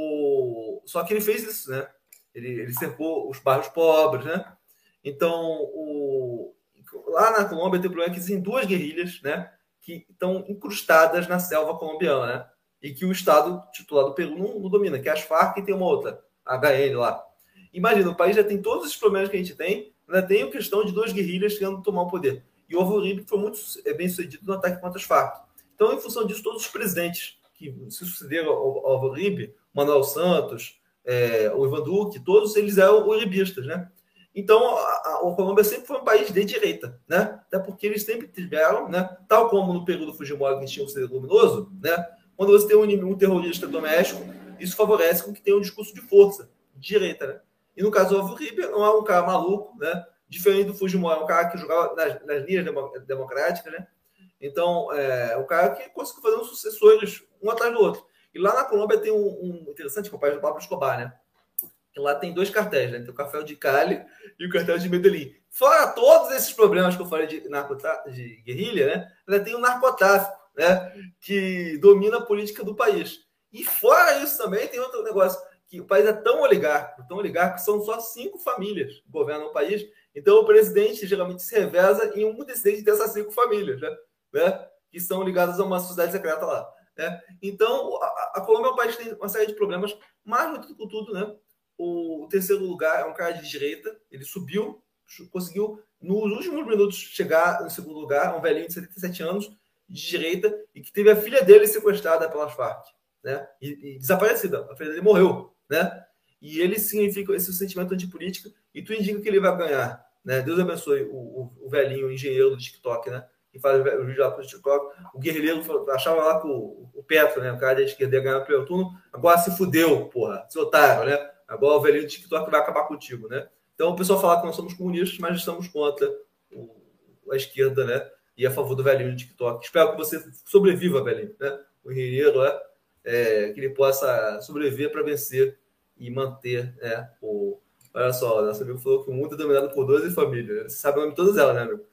Só que ele fez isso, né? Ele cercou os bairros pobres, né? Então, lá na Colômbia tem o problema que existem duas guerrilhas, né? Que estão incrustadas na selva colombiana, né? E que o Estado titular do Peru não domina, que é as Farc e tem uma outra, a HN lá. Imagina, o país já tem todos esses problemas que a gente tem, ainda tem a questão de duas guerrilhas querendo tomar o poder. E o Álvaro Uribe foi muito bem sucedido no ataque contra as Farc. Então, em função disso, todos os presidentes que se sucederam ao Álvaro Uribe, Manuel Santos, o Ivan Duque, todos eles eram uribistas, né? Então, a Colômbia sempre foi um país de direita, né? Até porque eles sempre tiveram, né? Tal como no período Fujimori, que tinha um ser luminoso, né? Quando você tem um terrorista doméstico, isso favorece com que tenha um discurso de força, de direita, né? E no caso do Alvo Ribeiro, não é um cara maluco, né? Diferente do Fujimori, é um cara que jogava nas linhas democráticas, né? Então, é um cara que conseguiu fazer uns sucessores um atrás do outro. E lá na Colômbia tem um interessante, que é o país do Pablo Escobar, né? Que lá tem dois cartéis, né? Tem o cartel de Cali e o cartel de Medellín. Fora todos esses problemas que eu falei de guerrilha, né? Ainda tem o narcotráfico, né? Que domina a política do país. E fora isso também tem outro negócio, que o país é tão oligárquico, que são só 5 famílias que governam o país. Então o presidente geralmente se reveza em um dessas 5 famílias, né? Que são ligadas a uma sociedade secreta lá. Né? Então a Colômbia é um país que tem uma série de problemas, mas muito com tudo, né? O terceiro lugar é um cara de direita, ele subiu, conseguiu, nos últimos minutos, chegar no segundo lugar, um velhinho de 77 anos, de direita, e que teve a filha dele sequestrada pelas Farc, né? E desaparecida, a filha dele morreu, né? E ele significa esse sentimento antipolítica, e tu indica que ele vai ganhar, né? Deus abençoe o velhinho, o engenheiro do TikTok, né? Que faz o vídeo lá pro TikTok. O guerrilheiro achava lá que o Petro, né? O cara da esquerda ia ganhar o primeiro turno, agora se fudeu, porra, se otário, né? Agora o velhinho do TikTok vai acabar contigo, né? Então o pessoal fala que nós somos comunistas, mas estamos contra a esquerda, né? E a favor do velhinho do TikTok. Espero que você sobreviva, velhinho, né? O guerreiro, né? Que ele possa sobreviver para vencer e manter, né? Olha só, nosso amigo falou que o mundo é dominado por 12 famílias. Você sabe o nome de todas elas, né, amigo?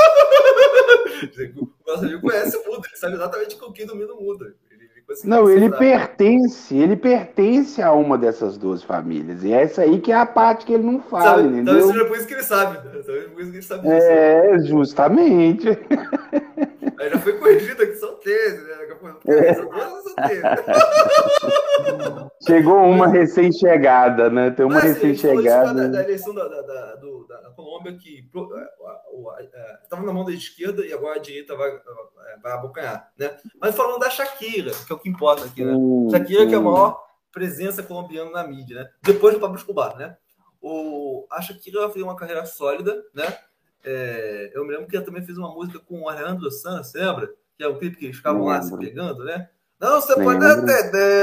O nosso amigo conhece o mundo, ele sabe exatamente com quem domina o mundo. Não, ele pertence a uma dessas 2 famílias. E essa aí que é a parte que ele não fala, entendeu? Talvez seja por isso que ele sabe. Talvez por isso que ele sabe disso. Justamente. Aí já foi corrigido aqui, são 13, né? São 12 são 13. Chegou uma recém-chegada, né? Tem uma recém-chegada. Da eleição da Colômbia, que estava na mão da esquerda e agora a direita vai abocanhar, né? Mas falando da Shakira, que é o que importa aqui, né? Shakira, que é a maior presença colombiana na mídia, né? Depois do Pablo Escobar, né? A Shakira fez uma carreira sólida, né? Eu me lembro que ela também fez uma música com o Alejandro Sanz, lembra? Que é o clipe que eles ficavam lá se pegando, né? Não, você pode entender.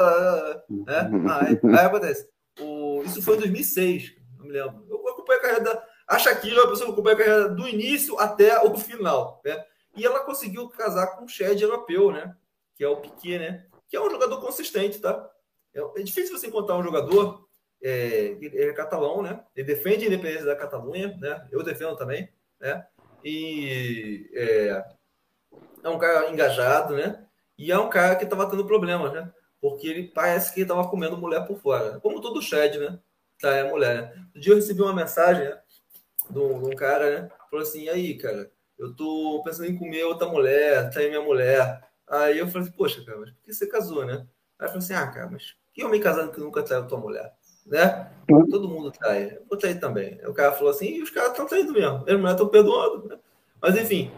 Né? Aí acontece. Isso foi em 2006, não me lembro. Eu acompanhei a carreira a Shakira, a pessoa que acompanha a carreira do início até o final, né? E ela conseguiu casar com um shed europeu, né? Que é o Piqué, né? Que é um jogador consistente, tá? É difícil você encontrar um jogador. Ele é catalão, né? Ele defende a independência da Catalunha, né? Eu defendo também, né? E é um cara engajado, né? E é um cara que estava tendo problemas, né? Porque ele parece que estava comendo mulher por fora. Como todo Shed, né? Tá, é mulher, né? Um dia eu recebi uma mensagem, né? De um cara, né? Falou assim, e aí, cara, eu tô pensando em comer outra mulher, trair minha mulher. Aí eu falei assim, poxa, cara, mas por que você casou, né? Aí eu falei assim, cara, mas que homem casado que nunca traiu tua mulher? Né? Todo mundo trai. Eu vou trair também. Aí o cara falou assim, e os caras estão traindo mesmo. As mulheres estão perdoando, né? Mas enfim,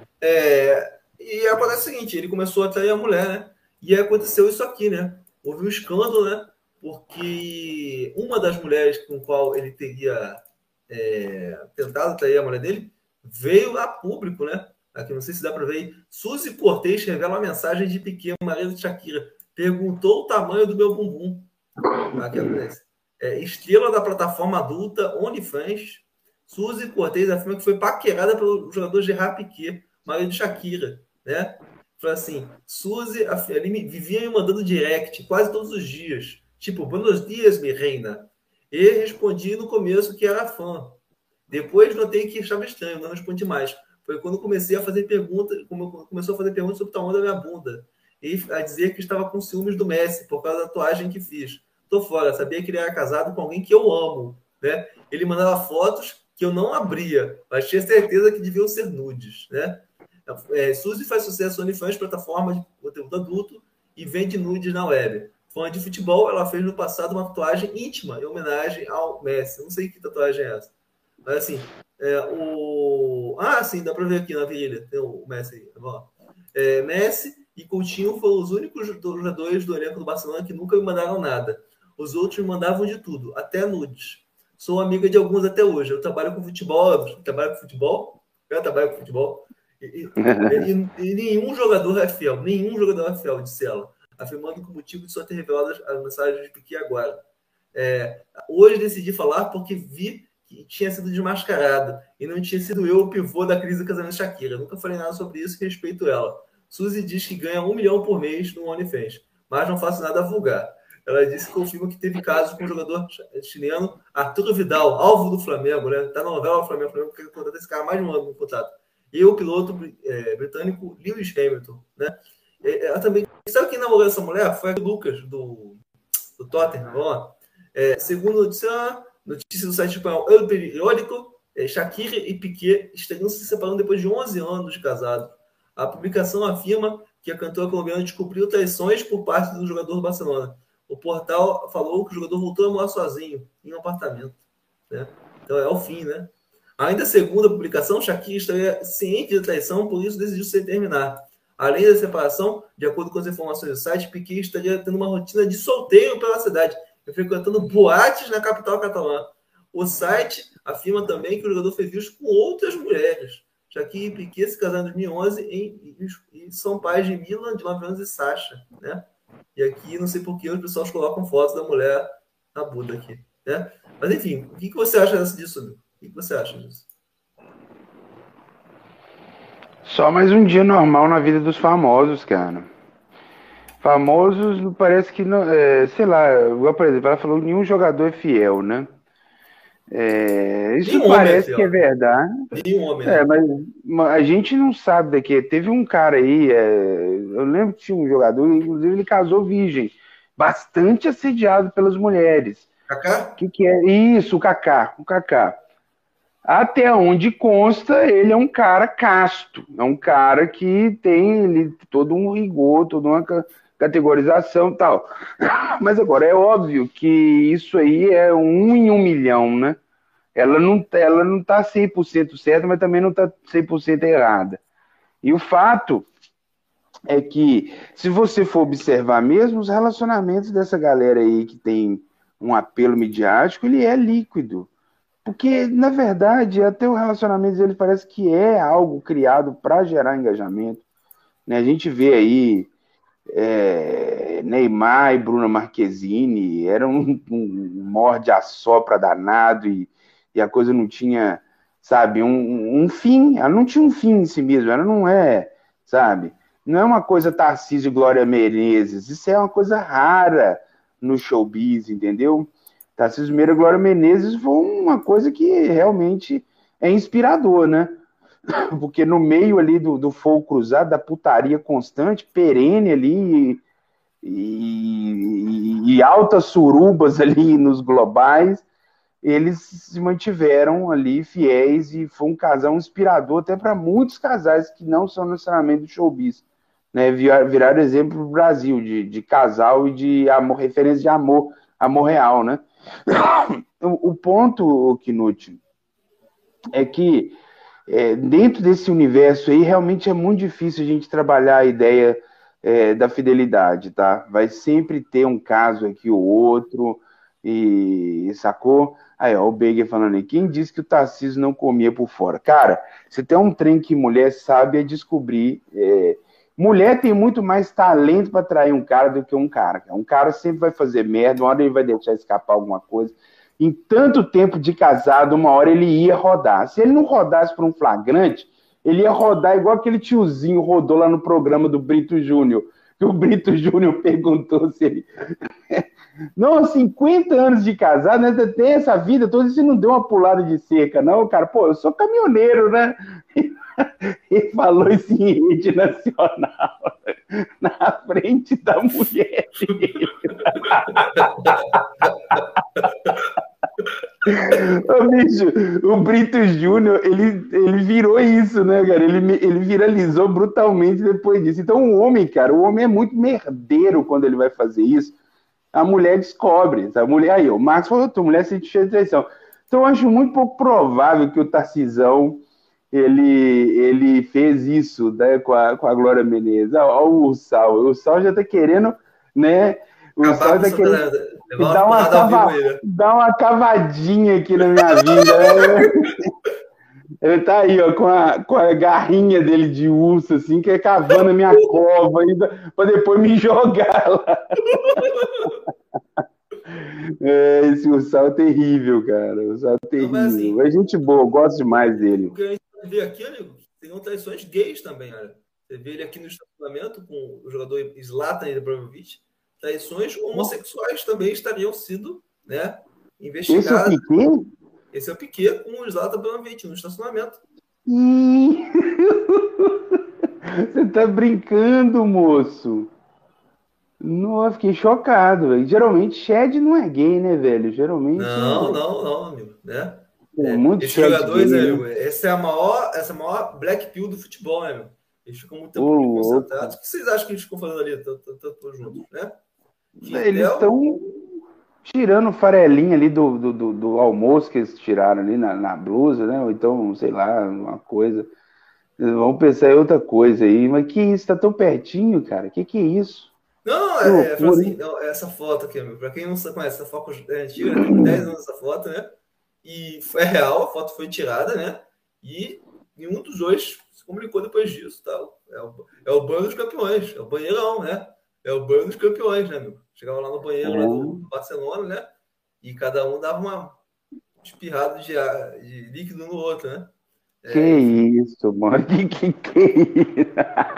e acontece o seguinte, ele começou a trair a mulher, né? E aí aconteceu isso aqui, né? Houve um escândalo, né? Porque uma das mulheres com qual ele teria tentado trair a mulher dele veio a público, né? Aqui não sei se dá para ver aí. Suzy Cortez revela uma mensagem de Piqué, marido de Shakira. Perguntou o tamanho do meu bumbum. Aqui acontece. Estrela da plataforma adulta OnlyFans, Suzy Cortez afirma que foi paquerada pelo jogador Gerard Piqué, marido de Shakira, né? Falou assim, Suzy ele vivia me mandando direct quase todos os dias, tipo, buenos dias, minha reina. E respondi no começo que era fã. Depois notei que achava estranho, não respondi mais. Foi quando comecei a fazer perguntas, começou a fazer perguntas sobre o tamanho da minha bunda. E a dizer que estava com ciúmes do Messi, por causa da tatuagem que fiz. Tô fora, sabia que ele era casado com alguém que eu amo, né? Ele mandava fotos que eu não abria, mas tinha certeza que deviam ser nudes, né? Suzy faz sucesso no OnlyFans, plataforma de conteúdo adulto, e vende nudes na web. Fã de futebol, ela fez no passado uma tatuagem íntima em homenagem ao Messi. Eu não sei que tatuagem é essa. Mas assim, sim, dá para ver aqui na virilha. Tem o Messi aí. Tá Messi e Coutinho foram os únicos jogadores do elenco do Barcelona que nunca me mandaram nada. Os outros me mandavam de tudo, até nudes. Sou amiga de alguns até hoje. Eu trabalho com futebol, eu trabalho com futebol, e nenhum jogador é fiel, disse ela, afirmando que o motivo de só ter revelado as mensagens de Piquet agora. Hoje decidi falar porque vi que tinha sido desmascarado e não tinha sido eu o pivô da crise do casamento Shakira. Nunca falei nada sobre isso e respeito ela. Suzy diz que ganha 1 milhão por mês no OnlyFans, mas não faço nada vulgar. Ela disse que confirma que teve casos com o jogador chileno Arturo Vidal, alvo do Flamengo, né? Tá na novela do Flamengo, o Flamengo quer contratar esse cara mais de um ano no contrato. E o piloto britânico Lewis Hamilton, né? Ela também... Sabe quem namorou essa mulher? Foi o Lucas, do Tottenham, ó. Segundo notícia do site espanhol El Periódico, Shakira e Piquet estariam se separando depois de 11 anos de casado. A publicação afirma que a cantora colombiana descobriu traições por parte do jogador do Barcelona. O portal falou que o jogador voltou a morar sozinho em um apartamento, né? Então é o fim, né? Ainda segundo a publicação, Shakira estaria ciente da traição, por isso decidiu se terminar. Além da separação, de acordo com as informações do site, Piquet estaria tendo uma rotina de solteiro pela cidade, frequentando boates na capital catalã. O site afirma também que o jogador fez isso com outras mulheres. Shakira e Piquet se casaram em 2011 e são pais de Milan, de 9 anos, e Sasha, né? E aqui, não sei por que, os pessoal colocam fotos da mulher na Buda aqui, né? Mas, enfim, o que você acha disso, Lu? O que você acha disso? Só mais um dia normal na vida dos famosos, cara. Famosos, parece que, não, sei lá, por exemplo, ela falou que nenhum jogador é fiel, né? Isso parece que é verdade. Nenhum homem, né? Mas a gente não sabe daqui. Teve um cara aí, eu lembro que tinha um jogador, inclusive ele casou virgem, bastante assediado pelas mulheres. Kaká? Que é isso, o Kaká. Até onde consta, ele é um cara casto, é um cara que tem todo um rigor, toda uma categorização e tal. Mas agora, é óbvio que isso aí é 1 em 1 milhão, né? Ela não tá 100% certa, mas também não tá 100% errada. E o fato é que, se você for observar mesmo, os relacionamentos dessa galera aí que tem um apelo midiático, ele é líquido. Porque, na verdade, até o relacionamento dele parece que é algo criado para gerar engajamento, né? A gente vê aí Neymar e Bruna Marquezine, era um morde-a-sopra danado e a coisa não tinha, sabe, um fim. Ela não tinha um fim em si mesma, ela não é, sabe? Não é uma coisa Tarcísio e Glória Menezes, isso é uma coisa rara no showbiz, entendeu? Tarcísio Meira e Glória Menezes foi uma coisa que realmente é inspirador, né? Porque no meio ali do fogo cruzado, da putaria constante, perene ali, e altas surubas ali nos globais, eles se mantiveram ali fiéis e foi um casal inspirador até para muitos casais que não são necessariamente do showbiz, né? Viraram exemplo no Brasil de casal e de amor, referência de amor real, né? O ponto, Knut, é que dentro desse universo aí realmente é muito difícil a gente trabalhar a ideia da fidelidade, tá? Vai sempre ter um caso aqui ou outro, e sacou? Aí, ó, o Beger falando aí, quem disse que o Tarcísio não comia por fora? Cara, você tem um trem que mulher sabe é descobrir. Mulher tem muito mais talento para atrair um cara do que um cara. Um cara sempre vai fazer merda, uma hora ele vai deixar escapar alguma coisa. Em tanto tempo de casado, uma hora ele ia rodar. Se ele não rodasse por um flagrante, ele ia rodar igual aquele tiozinho rodou lá no programa do Brito Júnior, que o Brito Júnior perguntou se ele... Não, 50 anos de casado, né? Tem essa vida toda, você não deu uma pulada de cerca, não, cara? Pô, eu sou caminhoneiro, né? Ele falou isso em rede nacional, na frente da mulher dele. Ô, bicho, o Brito Júnior, ele virou isso, né, cara? Ele viralizou brutalmente depois disso. Então, o homem é muito merdeiro quando ele vai fazer isso. A mulher descobre. A mulher, aí, o Marcos falou, tua mulher sente cheia de traição. Então, eu acho muito pouco provável que o Tarcisão ele fez isso, né, com a Glória Menezes. Olha o Ursal já tá querendo, né, O Sal é daquele que dá uma aí, né? dá uma cavadinha aqui na minha vida. Ele tá aí, ó, com a garrinha dele de urso, assim, que é cavando a minha cova ainda, pra depois me jogar lá. Esse Ursal é terrível, cara. O Ursal é terrível. Não, assim, é gente boa, eu gosto demais dele. O que a gente vê aqui, amigo, tem traições gays também, olha. Você vê ele aqui no estacionamento com o jogador Zlatan Ibrahimovic. Traições homossexuais também estariam sendo, né, investigadas. Esse é o Piquet? Esse é o Piquet com o Zlatan Ibrahimovic no estacionamento. Você tá brincando, moço? Não, fiquei chocado, velho. Geralmente Shed não é gay, né, velho? Geralmente não, amigo, né? Esses jogadores, gay, né? Essa é a maior black pill do futebol, né, meu? Eles ficam muito tempo concentrados. O que vocês acham que eles ficam fazendo ali, todos juntos, né? Eles estão tirando farelinha ali do almoço que eles tiraram ali na blusa, né? Ou então, sei lá, uma coisa. Vamos pensar em outra coisa aí. Mas que isso? Tá tão pertinho, cara? Que é isso? Não, assim, não, essa foto aqui, amigo. Pra quem não conhece, essa foto é antiga, tem 10 anos essa foto, né? E é real, a foto foi tirada, né? E nenhum dos dois se comunicou depois disso, tá? É o banho dos campeões, é o banheirão, né? É o banho dos campeões, né, amigo? Chegava lá no banheiro lá do Barcelona, né? E cada um dava uma espirrada de líquido no outro, né? Que isso, mano? Que isso?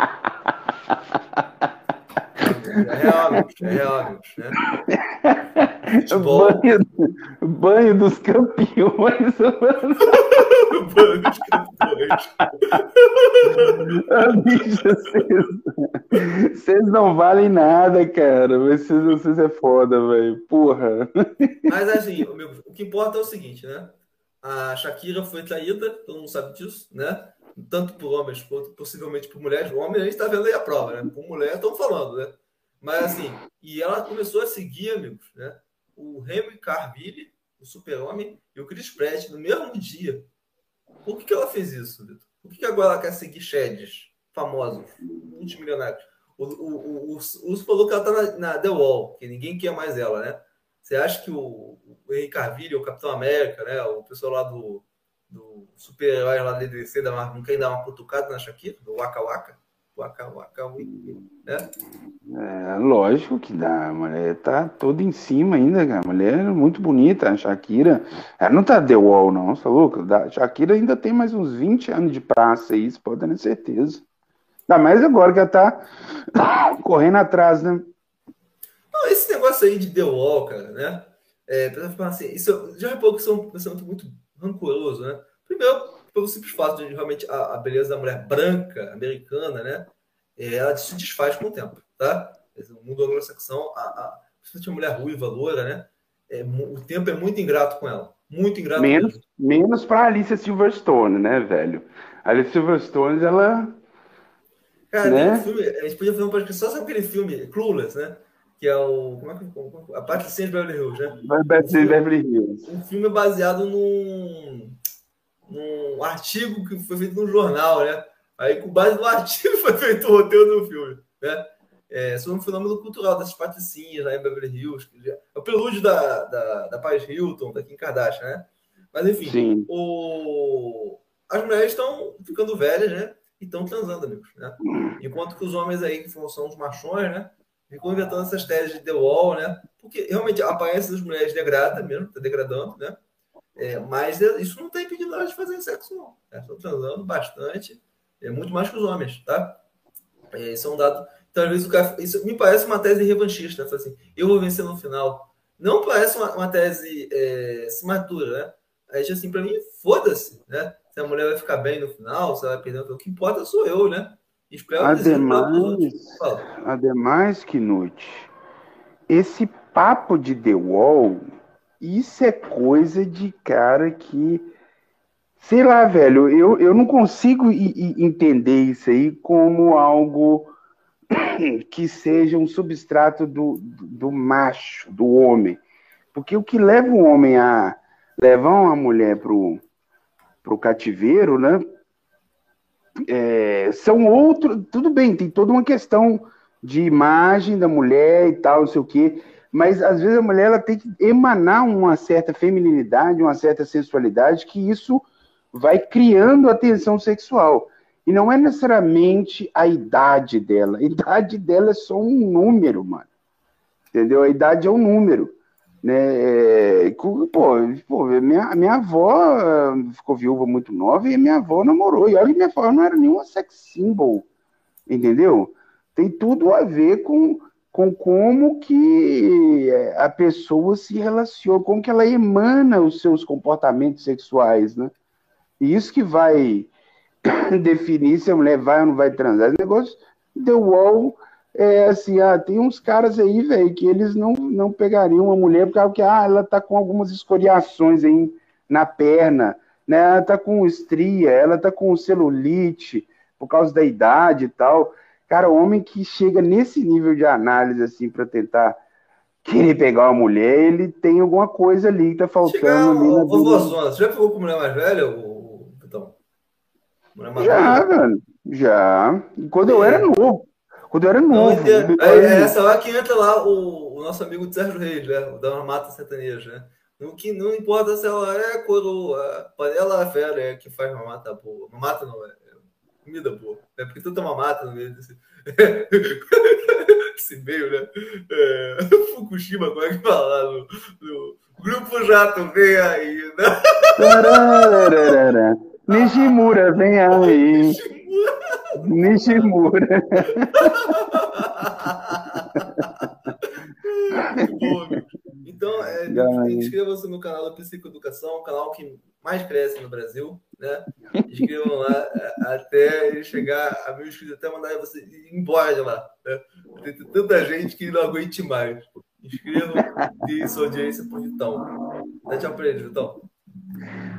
É real, amigos, né? Futebol... Banho dos campeões, mano. Banho dos campeões. Bicho, vocês não valem nada, cara. Vocês é foda, velho. Porra. Mas assim, o que importa é o seguinte, né? A Shakira foi traída, todo mundo sabe disso, né? Tanto por homens quanto possivelmente por mulheres. O homem a gente tá vendo aí a prova, né? Por mulher estão falando, né? Mas assim, e ela começou a seguir, amigos, né? O Henry Cavill, o Super-Homem, e o Chris Pratt no mesmo dia. Por que ela fez isso, Vitor? Por que agora ela quer seguir sheds famosos, multimilionários? O Urso falou que ela tá na The Wall, que ninguém quer mais ela, né? Você acha que o Henry Cavill, o Capitão América, né? O pessoal lá do super-herói lá da DC, não quer dar uma cutucada na Shakira, do Waka Waka? Waka Waka, né? Lógico que dá. A mulher tá toda em cima ainda, cara. A mulher é muito bonita. A Shakira, ela não tá The Wall, não, tá louco? A Shakira ainda tem mais uns 20 anos de praça aí, você pode ter certeza. Ainda mais agora que ela tá correndo atrás, né? Não, esse negócio aí de The Wall, cara, né? Assim, isso, já reparou que isso é um pensamento muito rancoroso, né? Primeiro, pelo simples fato de realmente a beleza da mulher branca, americana, né? Ela se desfaz com o tempo, tá? O mundo anglo-saxão, principalmente a mulher ruiva, loura, né? O tempo é muito ingrato com ela. Muito ingrato mesmo. Menos pra Alicia Silverstone, né, velho? A Alicia Silverstone, ela... Cara, né? Tem um filme, a gente podia fazer um podcast só sobre aquele filme, Clueless, né? Que é o... a Patricinha de Beverly Hills, né? Beverly Hills. Um filme baseado num artigo que foi feito num jornal, né? Aí, com base no artigo, foi feito o roteiro do filme, né? Sobre um fenômeno cultural dessas patricinhas lá em Beverly Hills. É o prelúdio da Paris Hilton, da Kim Kardashian, né? Mas, enfim, as mulheres estão ficando velhas, né? E estão transando, amigos, né? Enquanto que os homens aí, que são os machões, né? Ficam inventando essas teses de The Wall, né? Porque, realmente, a aparência das mulheres degrada mesmo, está degradando, né? Mas isso não tem impedido elas de fazer sexo, não. Estão transando bastante, muito mais que os homens, tá? Isso é um dado. Então, às vezes, isso me parece uma tese revanchista, né? Assim, eu vou vencer no final. Não parece uma tese madura, né? Aí, assim, para mim, foda-se, né? Se a mulher vai ficar bem no final, se ela vai perder, o que importa sou eu, né? Espero ademais, Knut, esse papo de The Wall, isso é coisa de cara que, sei lá, velho, eu não consigo entender isso aí como algo que seja um substrato do macho, do homem. Porque o que leva o homem a levar uma mulher pro cativeiro, né? São outros. Tudo bem, tem toda uma questão de imagem da mulher e tal, não sei o quê. Mas às vezes a mulher ela tem que emanar uma certa feminilidade, uma certa sensualidade, que isso vai criando a tensão sexual. E não é necessariamente a idade dela. A idade dela é só um número, mano. Entendeu? A idade é um número. Né? Pô, minha avó ficou viúva muito nova e minha avó namorou. E olha que minha avó não era nenhuma sex symbol. Entendeu? Tem tudo a ver com como que a pessoa se relaciona, como que ela emana os seus comportamentos sexuais, né? E isso que vai definir se a mulher vai ou não vai transar. Esse negócio The Wall é assim, tem uns caras aí, velho, que eles não pegariam uma mulher porque ela tá com algumas escoriações aí na perna, né? Ela tá com estria, ela tá com celulite por causa da idade e tal. Cara, o homem que chega nesse nível de análise assim para tentar querer pegar uma mulher, ele tem alguma coisa ali que tá faltando Chegar, ali na vida. vovózona, você já pegou com mulher mais velha, então? Mulher mais Já, nova? velho, já. Quando eu era É. novo. Quando eu era Não novo. entendo. É essa lá que entra lá o nosso amigo de Sérgio Reis, né? O da Mata Sertaneja, né? No que não importa se ela é coroa, panela fera é que faz mamata boa. Mamata não é comida boa. É porque tu toma mata no meio desse, desse meio, né? É, Fukushima, como é que fala lá no Grupo Jato, vem aí, né? Tarararara. Nishimura, vem aí. Nishimura. Muito bom, amigo. Então, inscreva-se no canal da Psicoeducação, o canal que mais cresce no Brasil, né? Inscrevam lá até ele chegar a 1.000 inscritos, até mandar você ir embora de lá. Né? Tem tanta gente que não aguente mais. Inscrevam e deem sua audiência pro Vitão. Dá tchau pra ele, Vitão.